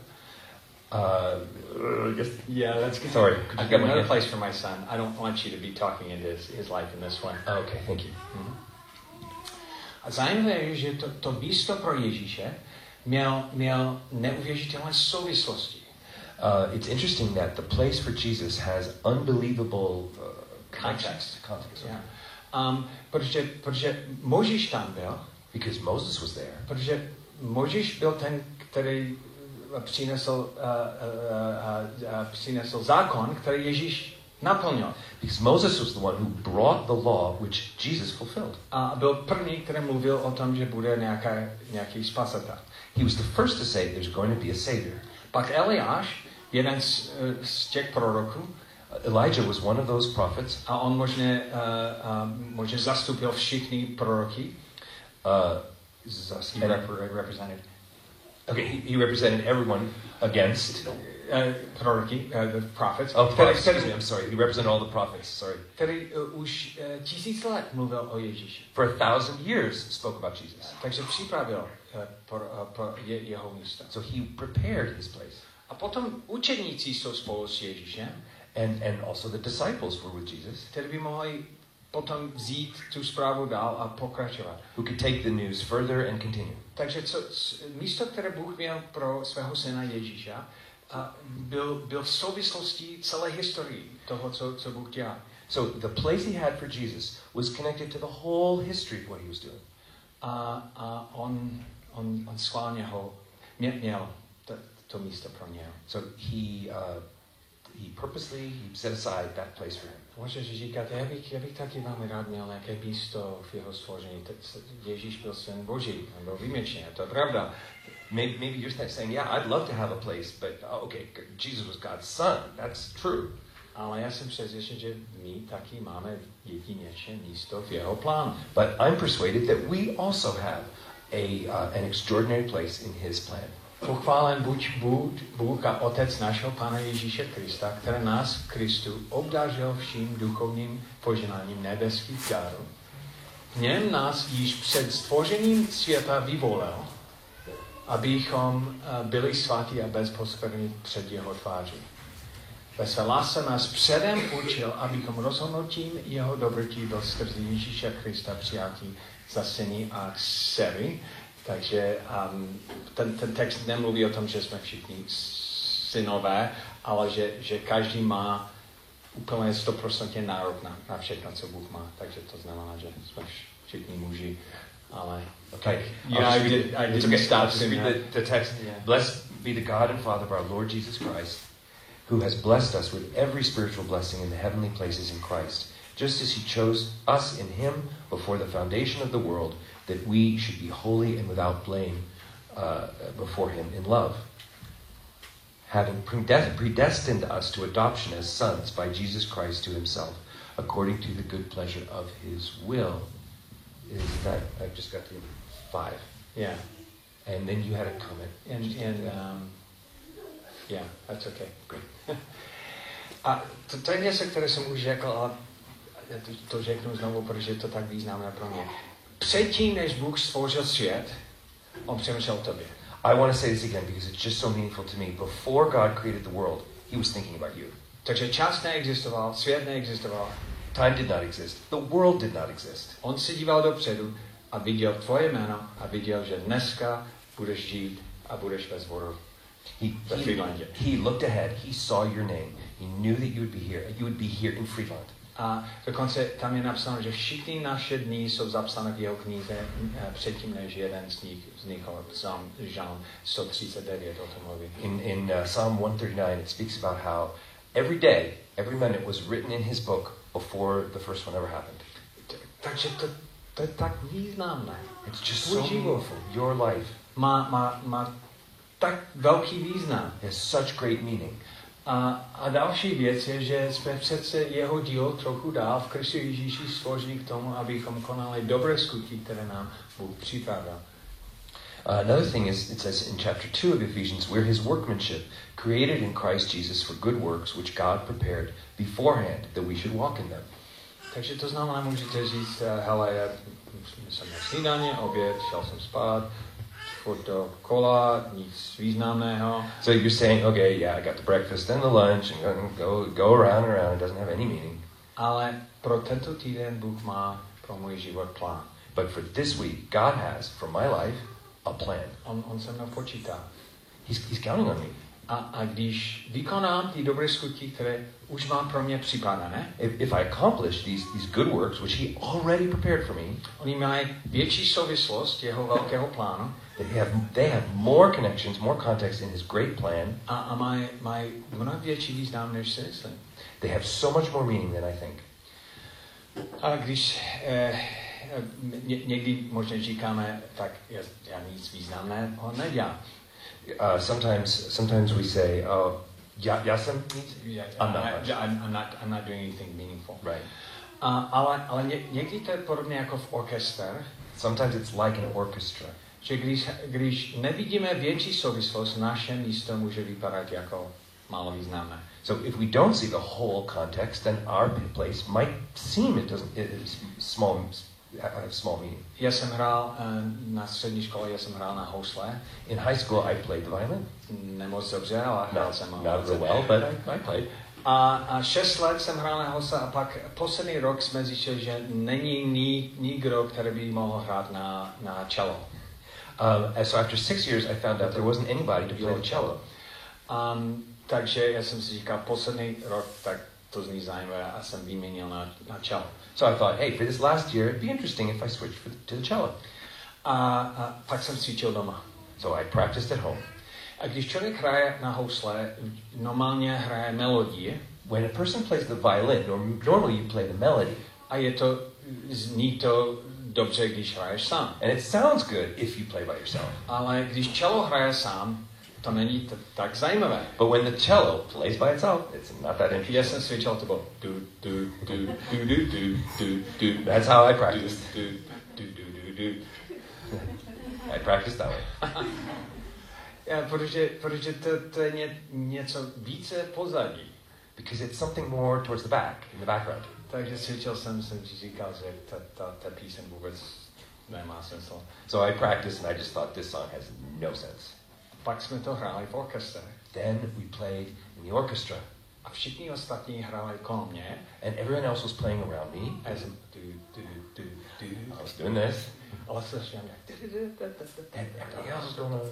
Uh, just, Yeah, let's get sorry. I've Could you got get my another hand? place for my son. I don't want you to be talking into his, his life in this way. Oh, okay, thank you. Mm-hmm. A zajímavé je, že to, to místo pro Ježíše měl, měl neuvěřitelné souvislosti. Uh, it's interesting that the place for Jesus has unbelievable uh, Context. Context. Yeah. Um, protože, protože Mojžíš tam byl, Because Moses was there. protože Mojžíš byl ten, který přinesl, uh, uh, uh, uh, přinesl zákon, který Ježíš naplnil. Because Moses was the one who brought the law which Jesus fulfilled. A byl první, který mluvil o tom, že bude nějaká, nějaký spasitel. He was the first to say there's going to be a savior. Pak Eliáš, jeden z, z těch proroků, Elijah was one of those prophets. a on možná, uh, uh, možná zastupil všichni proroky. Uh, He rep- represented. okay, he, he represented everyone against. Uh, proroky, uh, the prophets. Oh, který, prophets, excuse me, který, I'm sorry. He represented all the prophets, sorry. který uh, už uh, tisíc let mluvil o Ježíši. For a thousand years spoke about Jesus. Takže připravil uh, pro, uh, pro je, jeho místo. So he prepared his place. A potom učedníci jsou spolu s Ježíšem, And, and also the disciples were with Jesus, kteří by mohli potom vzít tu zprávu dál a pokračovat. who could take the news further and continue. Takže co, místo, které Bůh měl pro svého syna Ježíša, a byl, byl v souvislosti celé historii toho, co, co Bůh dělá. So the place he had for Jesus was connected to the whole history of what he was doing. A, a on, on, on schválně ho mě, měl to, to místo pro něj. So he uh, he purposely he set aside that place for him. Můžeš říkat, já bych, já bych taky velmi rád měl nějaké místo v jeho stvoření. Ježíš byl syn Boží, on byl výjimečný, to je pravda. Maybe, maybe you're saying, yeah, I'd love to have a place, but uh, okay, Jesus was God's son. That's true. Ale já jsem přesvědčen, že my taky máme jedinečné místo v jeho plánu. But I'm persuaded that we also have a uh, an extraordinary place in his plan. Pochválen buď Bůh, Bůh a Otec našeho Pána Ježíše Krista, který nás v Kristu obdařil vším duchovním poženáním nebeských darů. V něm nás již před stvořením světa vyvolil, abychom byli svatí a bezposkvrní před jeho tváří. Ve své lásce nás předem učil, abychom rozhodnutím jeho dobrotí byl skrze Ježíše Krista přijatí za syny a dcery. Takže um, ten, ten text nemluví o tom, že jsme všichni synové, ale že, že každý má úplně sto procent nárok na, na všechno, co Bůh má. Takže to znamená, že jsme všichni muži. Ale Okay. yeah, I did, I It's didn't okay. stop I'll just saying read that. the, the text. Yeah. Blessed be the God and Father of our Lord Jesus Christ, who has blessed us with every spiritual blessing in the heavenly places in Christ, just as he chose us in him before the foundation of the world, that we should be holy and without blame uh, before him in love, having predestined us to adoption as sons by Jesus Christ to himself, according to the good pleasure of his will. Is that, I've just got to five. Yeah. And then you had a comment. And, and um, yeah, that's okay. Good. A to, to je něco, které jsem už řekl, ale já to, to řeknu znovu, protože je to tak významné pro mě. Předtím, než Bůh stvořil svět, on přemýšlel o tobě. I want to say this again because it's just so meaningful to me. Before God created the world, he was thinking about you. Takže čas neexistoval, svět neexistoval. Time did not exist. The world did not exist. On se díval dopředu a viděl tvoje jméno a viděl, že dneska budeš žít a budeš ve sboru He, ve he, Friedlandě. he looked ahead. He saw your name. He knew that you would be here. You would be here in Friedland. A dokonce tam je napsáno, že všichni naše dny jsou zapsané v jeho knize předtím, než jeden z nich vznikl. Psalm, Žalm sto třicet devět o tom mluví. In, in uh, Psalm one thirty-nine, it speaks about how every day, every minute was written in his book before the first one ever happened. Takže to, to je tak významné. It's just Tvůj so život meaningful. Your life má, má, má tak velký význam. has such great meaning. A, a další věc je, že jsme přece jeho dílo trochu dál v Kristu Ježíši stvoření k tomu, abychom konali dobré skutky, které nám Bůh připravil. Uh, another thing is, it says in chapter two of Ephesians, we're his workmanship, created in Christ Jesus for good works, which God prepared beforehand that we should walk in them. Takže to znamená, můžete říct, hele, já jsem na snídaně, oběd, šel jsem spát, furt do kola, nic významného. So you're saying, okay, yeah, I got the breakfast and the lunch, and go, go around and around, it doesn't have any meaning. Ale pro tento týden Bůh má pro můj život plán. But for this week, God has, for my life, a plan. On, on se mnou počítá. He's, he's counting on me. A, a když vykonám ty dobré skutky, které už mám pro mě připravené, If, if I accomplish these, these good works, which he already prepared for me, oni mají větší souvislost jeho velkého plánu they have, they have more connections, more context in his great plan. a, a mají, mají mnohem větší význam, než si myslím. They have so much more meaning than I think. A když eh, ně, někdy možná říkáme, tak já, já nic významného nedělám. Uh, sometimes, sometimes we say, "Oh, já, já jsem nic." Yeah, I'm not I, much. I'm, I'm, not, I'm not doing anything meaningful. Right. A, ale ale ně, někdy to je podobně jako v orchestr, Sometimes it's like an orchestra. že když, když nevidíme větší souvislost, naše místo může vypadat jako málo významné. So if we don't see the whole context, then our place might seem it doesn't it is small have small meaning. Já jsem hrál na střední škole, já jsem hrál na housle. In high school, I played the violin. Nemoc dobře, ale hrál jsem. Not, not real well, but I, I played. A, a šest let jsem hrál na housle a pak poslední rok jsme zjistili, že není ni, nikdo, který by mohl hrát na, na cello. Um, and so after six years, I found out there wasn't anybody to play the cello. Um, takže já jsem si říkal, poslední rok, tak to zní zajímavé a jsem vyměnil na, na cello. So I thought, hey, for this last year, it'd be interesting if I switched for the, to the cello. A, a pak jsem cvičil doma. So I practiced at home. A když člověk hraje na housle, normálně hraje melodii. When a person plays the violin, norm, normally you play the melody. A je to, zní to dobře, když hraješ sám. And it sounds good if you play by yourself. Ale když cello hraje sám, to není t- tak zajímavé. But when the cello plays by itself, it's not that interesting. Já jsem cvičil, to bylo du, du, du, du, du, du, du, du. That's how I practiced. Du, du, du, du, du, du. I practiced that way. Ja, protože, protože to, to je ně, něco více pozadí. Because it's something more towards the back, in the background. Takže cvičil jsem, jsem si říkal, že ta, ta, ta píseň vůbec nemá smysl. So I practiced and I just thought this song has no sense. Pak jsme to hráli v orchestře. Then we played in the orchestra. A všichni ostatní hráli kolem mě. And everyone else was playing around me. A já jsem du, du, du, du. I was doing this. Ale slyšel mě. And everything else was going on.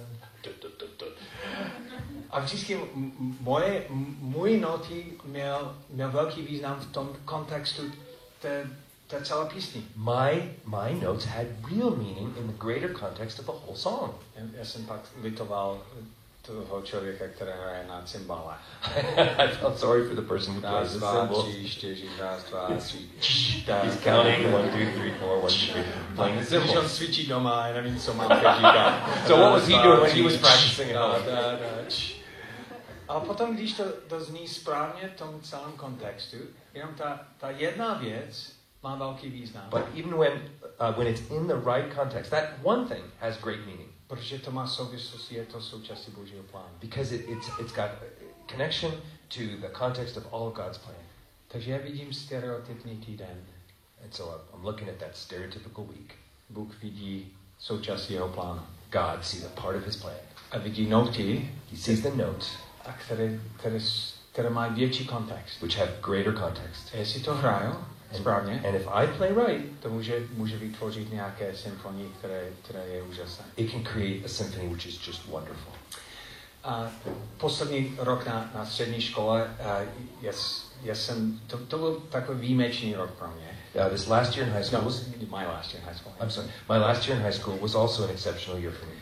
A vždycky m- moje, m- můj noty měl, měl velký význam v tom kontextu té, té celé písni. My, my notes had real meaning in the greater context of the whole song. Já, já jsem pak litoval toho člověka, který hraje na cymbale. I felt sorry for the person who plays the cymbal. tři, čtyři, raz, dva, tři. He's counting one, two, three, four, one, two, three, playing the Když cymbal. on cvičí doma, já nevím, co mám teď říkat. So what was he doing when he was practicing at home? Da, da, da, č. A potom, když to, to zní správně v tom celém kontextu, jenom ta, ta jedna věc má velký význam. But even when, uh, when it's in the right context, that one thing has great meaning. Protože to má souvislost, je to součástí Božího plánu. Because it, it's, it's got connection to the context of all of God's plan. Takže já vidím stereotypní týden. And so I'm, I'm looking at that stereotypical week. Bůh vidí součástí jeho plánu. God sees a part of his plan. A vidí noty, He sees the notes, a které, které, které mají větší kontext. which have greater context. A jestli to hraju správně, And if I play right, to může, může vytvořit nějaké symfonie, které, které je úžasné. it can create a symphony which is just wonderful. A poslední rok na, na střední škole, uh, yes, yes, jsem, to, to byl takový výjimečný rok pro mě. Uh, this last year in high school No, was, my last year in high school. I'm sorry, my last year in high school was also an exceptional year for me.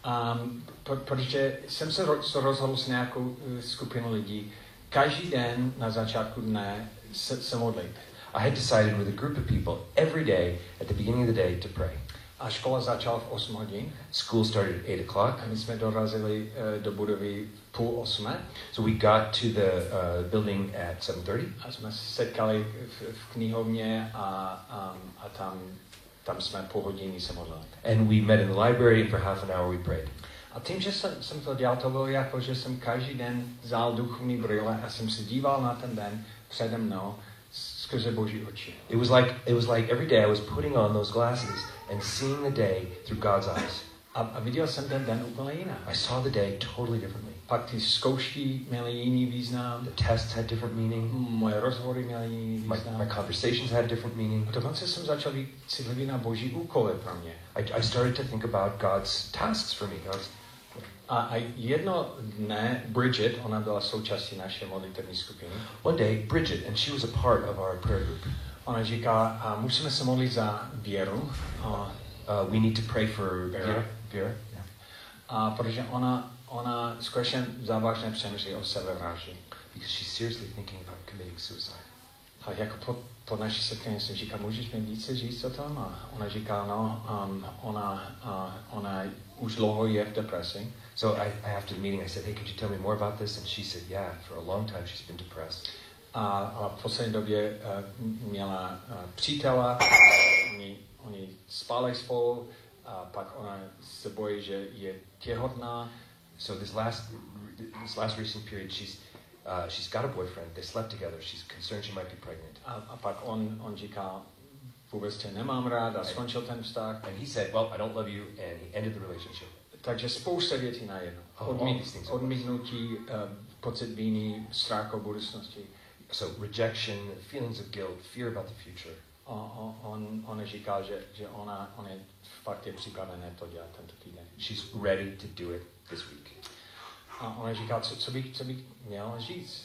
Um, pro, protože jsem se ro- rozhodl s nějakou uh, skupinou lidí každý den na začátku dne se, se modlit. I had decided with a group of people every day at the beginning of the day to pray. A škola začala v osm hodin. School started at eight o'clock. A my jsme dorazili uh, do budovy půl osmé. So we got to the uh, building at seven thirty. A jsme se setkali v, v knihovně a, um, a tam, tam jsme půl hodiny se modlili. And we met in the library and for half an hour we prayed. A tím, že jsem, jsem to dělal, to bylo jako, že jsem každý den vzal duchovní brýle a jsem se díval na ten den přede mnou skrze Boží oči. It was like it was like every day I was putting on those glasses and seeing the day through God's eyes. A, a viděl jsem ten den úplně jinak. I saw the day totally differently. Pak ty zkoušky měly jiný význam. The tests had different meaning. Moje rozhovory měly jiný My, význam. my conversations had different meaning. A dokonce jsem začal být citlivý na Boží úkoly pro mě. I, I started to think about God's tasks for me. God's, A, a jedno dne Bridget, ona byla součástí naší modlitevní skupiny. One day, Bridget, and she was a part of our prayer group. Ona říká, a musíme se modlit za Věru. A, Uh, we need to pray for Vera. Vera. Vera. Yeah. a protože ona, ona skutečně závažně přemýšlí o sebevraždě. Because she's seriously thinking about committing suicide. A jako po, po naší setkání jsem říkal, můžeš mi více říct o tom? A ona říká, no, um, ona, uh, ona už dlouho je v depresi. So I, I, after the meeting, I said, "Hey, could you tell me more about this?" And she said, "Yeah, for a long time she's been depressed." A, a v poslední době uh, měla uh, přítela, oni, oni spali spolu, a pak ona se bojí, že je těhotná. So this last this last recent period, she's uh, she's got a boyfriend. They slept together. She's concerned she might be pregnant. A, a pak on, on říká, vůbec tě nemám rád a skončil ten vztah. And he said, "Well, I don't love you," and he ended the relationship. Takže spousta věcí najednou. Oh, Odmít, things. odmítnutí, uh, pocit víny, strach o budoucnosti. So rejection, feelings of guilt, fear about the future. A, a, on, on říká, že, že ona, on je fakt je připravené to dělat tento týden. She's ready to do it this week. A ona říká, co, co, bych, co bych měla říct?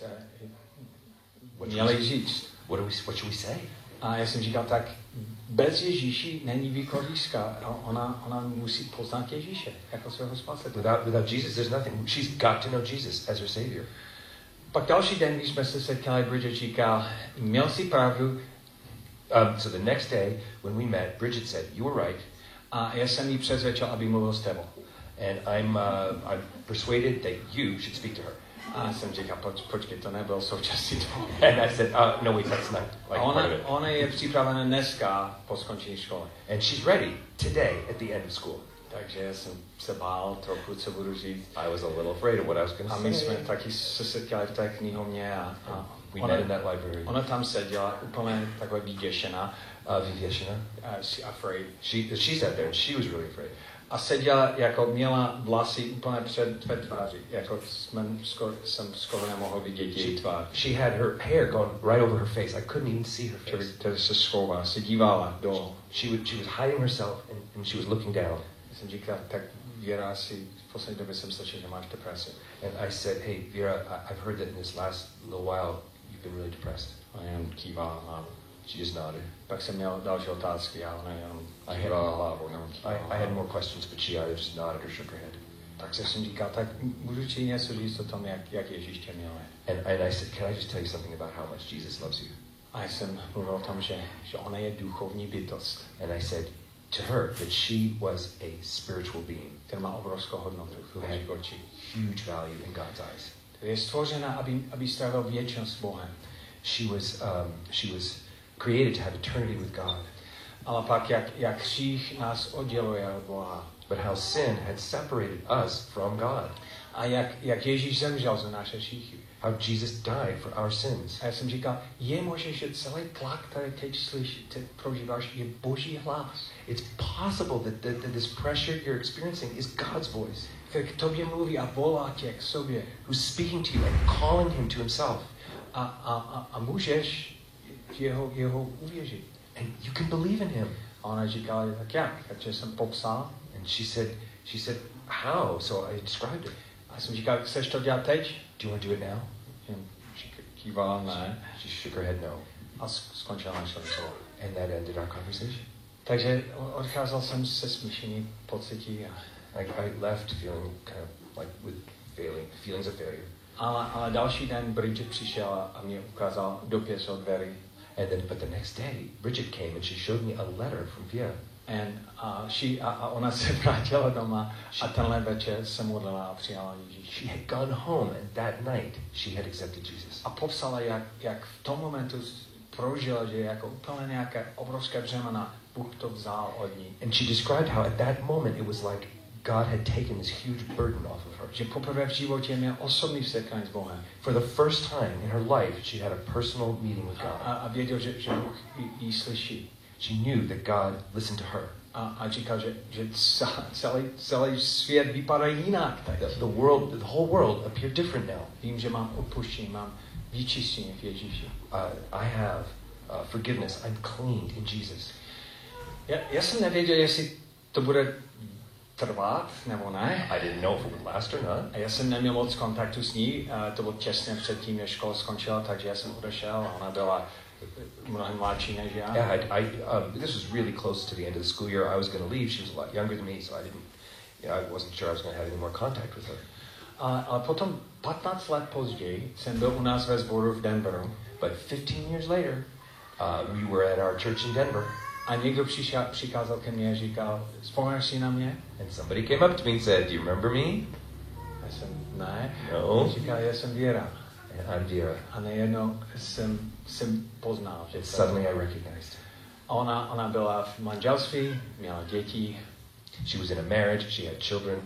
What Měla should we- říct. What do we? What should we say? A já jsem říkal, tak bez Ježíši není východiska. A ona, ona musí poznat Ježíše jako svého spasitele. Without without Jesus, there's nothing. She's got to know Jesus as her Savior. Pak další den, když jsme se setkali, Bridget říkal, měl jsi pravdu. Um, so the next day, when we met, Bridget said, "You were right." A já jsem jí přesvědčil, aby mluvil s tebou. And I'm, uh, I'm persuaded that you should speak to her. A jsem říkal, poč, počkej, to nebyl součástí toho. And I said, uh, no, wait, that's not like A part ona, of it. ona je připravena dneska po skončení školy. And she's ready today at the end of school. Takže já jsem se bál trochu, co budu říct. I was a little afraid of what I was going A to my say. jsme taky se setkali v té knihovně a, a We ona, met in that library. ona tam seděla úplně takhle vyděšená. Uh, Vivieshna, Uh, she afraid. she she sat there and she was really afraid. A seděla, jako měla vlasy úplně před, před tváří. Jako jsme, skoro, jsem skoro nemohl vidět její tvář. She had her hair gone right over her face. I couldn't even see her Čili face. tedy se schovala, se dívala dolů. She was she was hiding herself and, and she was looking down. Jsem říkal, tak Věra, asi v poslední době jsem slyšel, že máš depresi. And I said, "Hey, Vera, I, I've heard that in this last little while you've been really depressed." A jen kývala hlavou. She just nodded. Pak jsem měl další otázky a ona jenom I kývala hlavou. Jenom I, kývala I had hlavou. more questions, but she either just nodded or shook her head. Tak jsem říkal, tak můžu ti něco říct o tom, jak, jak Ježíš tě miluje. And, and I said, "Can I just tell you something about how much Jesus loves you?" A jsem mluvil o tom, že, že ona je duchovní bytost, And I said to her that she was a spiritual being která má obrovskou hodnotu v who had Božích očích. huge value in God's eyes. Je stvořena, aby, aby strávil věčnost s Bohem. She was, um, she was created to have eternity with God. Ale pak, jak, jak hřích nás odděluje od Boha. But how sin had separated us from God. A jak, jak Ježíš zemřel za naše hříchy. How Jesus died for our sins. A já jsem říkal, je možné, že celý tlak, který teď slyší, teď prožíváš, je Boží hlas. It's possible that, that, that this pressure you're experiencing is God's voice, Který k tobě mluví a volá tě k sobě. who's speaking to you and calling him to himself. A, a, a, a můžeš jeho, jeho uvěřit. And you can believe in him. A ona říkala, tak jak? Takže jsem popsal. And she said, she said, how? So I described it. A, já jsem říkal, chceš to dělat teď? Do you want to do it now? Kývala, ne. She shook her head no. A skončila naše rozhovor. And that ended our conversation. Takže odcházel jsem se smíšený pocití. A Like I left feeling kind of like with failing, feelings of failure. Ale, ale další den Bridget přišel a mě ukázal dopis od Very. And then, but the next day, Bridget came and she showed me a letter from Vera. And uh, she, a, a ona se vrátila doma a tenhle večer se modlila a přijala Ježíše. She had gone home and that night she had accepted Jesus. A popsala, jak, jak v tom momentu prožila, že jako úplně nějaké obrovské břemena Bůh to vzal od ní. And she described how at that moment it was like God had taken this huge burden off of her. Že poprvé v životě měl osobní setkání s Bohem. For the first time in her life, she had a personal meeting with God. A, a věděl, že, že Bůh jí slyší. She knew that God listened to her. A, a říkal, že, že celý, celý svět vypadá jinak. The, the world, the whole world appeared different now. Vím, že mám odpuštění, mám vyčištění v Ježíši. Uh, I have uh, forgiveness. I'm cleaned in Jesus. Já, já jsem nevěděl, jestli to bude trvat nebo ne. I didn't know if it would last or not. A já jsem neměl moc kontaktu s ní. A to bylo těsně předtím, než škola skončila, takže já jsem odešel a ona byla mnohem mladší než já. Yeah, I, I, um, this was really close to the end of the school year. I was going to leave. She was a lot younger than me, so I didn't, you know, I wasn't sure I was going to have any more contact with her. A, ale potom patnáct let později jsem byl u nás ve sboru v Denveru. But fifteen years later, uh, we were at our church in Denver. A někdo přišel, přikázal ke mně a říkal, vzpomínáš si na mě? And somebody came up to me and said, "Do you remember me?" Já jsem, ne. No. Říkal, já jsem Věra. And I'm Vera. A nejednou jsem, jsem poznal, že And suddenly I recognized her. A ona, ona byla v manželství, měla děti. She was in a marriage. She had children.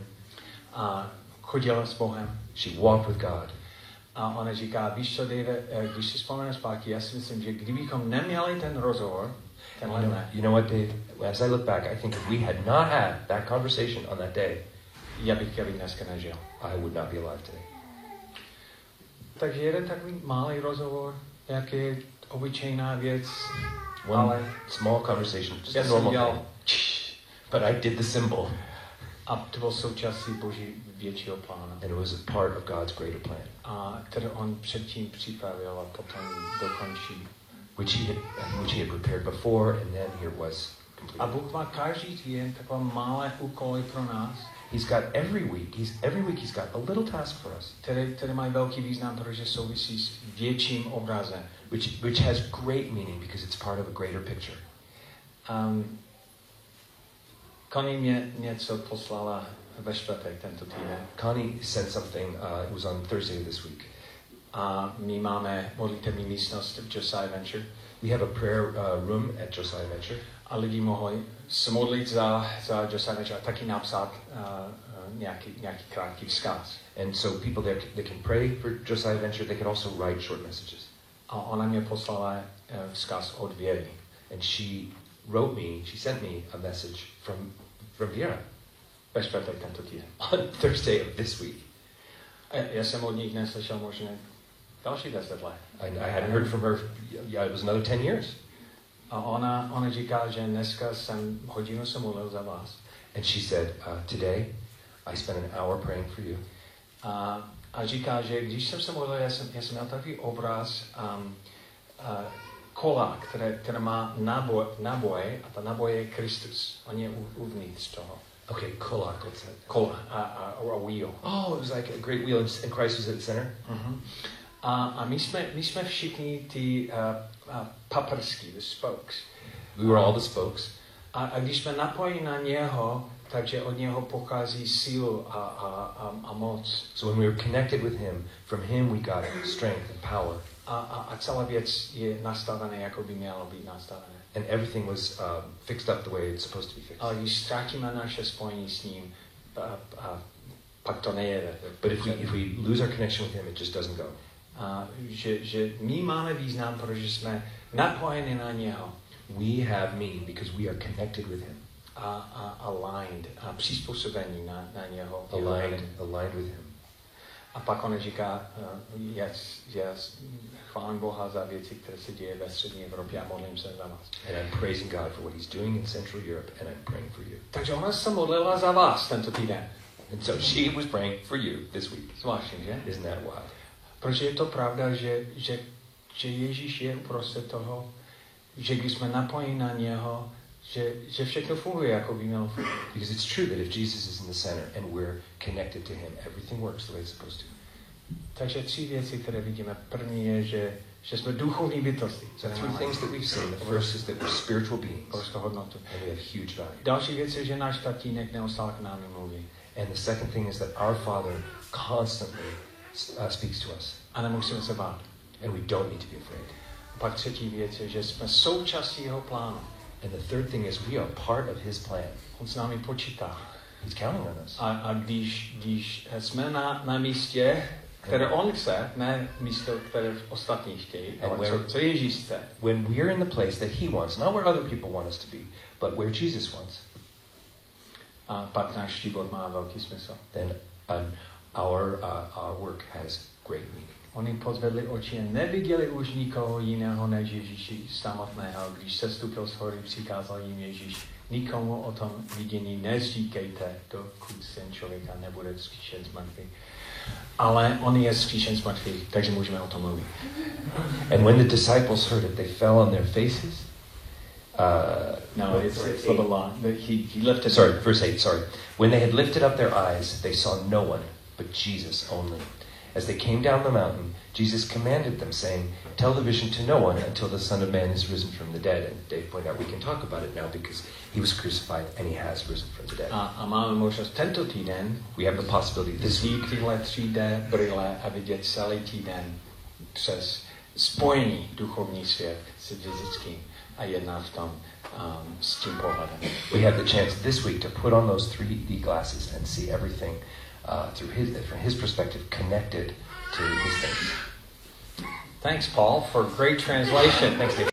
A chodila s Bohem. She walked with God. A ona říká, víš co, Dave, když si vzpomeneš zpátky, já si myslím, že kdybychom neměli ten rozhovor, tenhle You know, ne, you know what, Dave? As I look back, I think if we had not had that conversation on that day, já bych Kevin dneska nežil. I would not be alive today. Takže jeden takový malý rozhovor, nějaký obyčejná věc, One ale small conversation, just já a jsem normal dělal, thing. But I did the symbol. a to byl součástí Boží většího plánu. And it was a part of God's greater plan, A který on předtím připravil a potom dokončí. which he had, which he had prepared before, and then here it was A completed. Bůh má každý týden takové malé úkoly pro nás, He's got every week. He's every week. He's got a little task for us, které, které mají velký význam, protože souvisí s větším obrazem. which which has great meaning because it's part of a greater picture. Um, Connie mě něco poslala ve čtvrtek tento týden. Connie sent something. Uh, it was on Thursday of this week. A my máme modlitební místnost v Josiah Venture. We have a prayer uh, room at Josiah Venture. A lidi mohli se modlit za, za Josiah Venture a taky napsat uh, uh, nějaký, nějaký krátký vzkaz. And so people there, they can pray for Josiah Venture. They can also write short messages. A ona mě poslala uh, vzkaz od Věry. And she wrote me, she sent me a message from, from Vera Ve čtvrtek tento týden. on Thursday of this week. A já jsem od nich neslyšel možná další deset let. I, I hadn't heard from her, yeah, it was another ten years. A ona, ona říká, že dneska jsem hodinu se modlil za vás. And she said, uh, today I spent an hour praying for you. A, a říká, že když jsem se modlil, já jsem, já jsem měl takový obraz um, uh, kola, které, které má náboj, náboje a ta náboje je Kristus. On je u, uvnitř toho. Okay, kolak, what's that? Kola, a, a, a wheel. Oh, it was like a great wheel and Christ was at the center? Uh-huh. A, a my, jsme, my jsme všichni ty uh, uh, paprsky, the spokes. We were all the spokes. A, a když jsme napojeni na něho, takže od něho pochází sílu a, a, a, a moc. So when we were connected with him, from him we got strength and power. A, a, a celá věc je nastavená, jako by měla být nastavená. And everything was um, fixed up the way it's supposed to be fixed. Ale když ztratíme naše spojení s ním, a, a, pak to nejede. But if we, if we lose our connection with him, it just doesn't go. A, že, že my máme význam, protože jsme napojeni na něho. We have meaning because we are connected with him. A, a aligned, a přizpůsobení na, na něho. Aligned, aligned with him. A pak on říká, uh, yes, yes, chválím Boha za věci, které se děje ve střední Evropě a modlím se za vás. And I'm praising God for what he's doing in Central Europe, and I'm praying for you. Takže ona se modlila za vás tento týden. And so she was praying for you this week. Zvláštní, že? Isn't that wild? Protože je to pravda, že, že, že Ježíš je uprostřed toho, že když jsme napojeni na něho, že, že všechno funguje, jako by mělo fungovat. Because it's true that if Jesus is in the center and we're connected to him, everything works the way it's supposed to. Takže tři věci, které vidíme. První je, že, že jsme duchovní bytosti. So three things that we've seen. The first is that we're spiritual beings. Obrovskou hodnotu. And we have huge value. Další věc je, že náš tatínek neustále k nám mluví. And the second thing is that our Father constantly uh, speaks to us. A nemusíme se bát. And we don't need to be afraid. A pak třetí věc je, že jsme součástí jeho plánu. And the third thing is we are part of his plan. On s námi počítá. He's counting on us. A, a když, když jsme na, na místě, které on chce, ne místo, které ostatní chtějí, ale co, co Ježíš chce. When we're in the place that he wants, not where other people want us to be, but where Jesus wants. A pak náš život má velký smysl. Then um, our, uh, our work has great meaning. Oni pozvedli oči a neviděli už nikoho jiného než Ježíši samotného. Když se stupil z hory, přikázal jim Ježíš, nikomu o tom vidění nezříkejte, dokud syn člověka nebude vzkříšen z mrtvých. Ale on je vzkříšen z mrtvých, takže můžeme o tom mluvit. And when the disciples heard it, they fell on their faces. Uh, no, it's, it's a little long. He, he lifted sorry, verse eight, sorry. When they had lifted up their eyes, they saw no one but Jesus only. As they came down the mountain, Jesus commanded them, saying, tell the vision to no one until the Son of Man is risen from the dead. And Dave pointed out we can talk about it now because he was crucified and he has risen from the dead. A, a máme možnost tento týden we have the possibility this week tyhle tři D brýle a vidět celý týden přes spojení duchovní svět s fyzickým a jedná v tom um, s tím pohledem. We have the chance this week to put on those three D glasses and see everything Uh, through his, from his perspective, connected to his things. Thanks, Paul, for great translation. Thanks, Dave.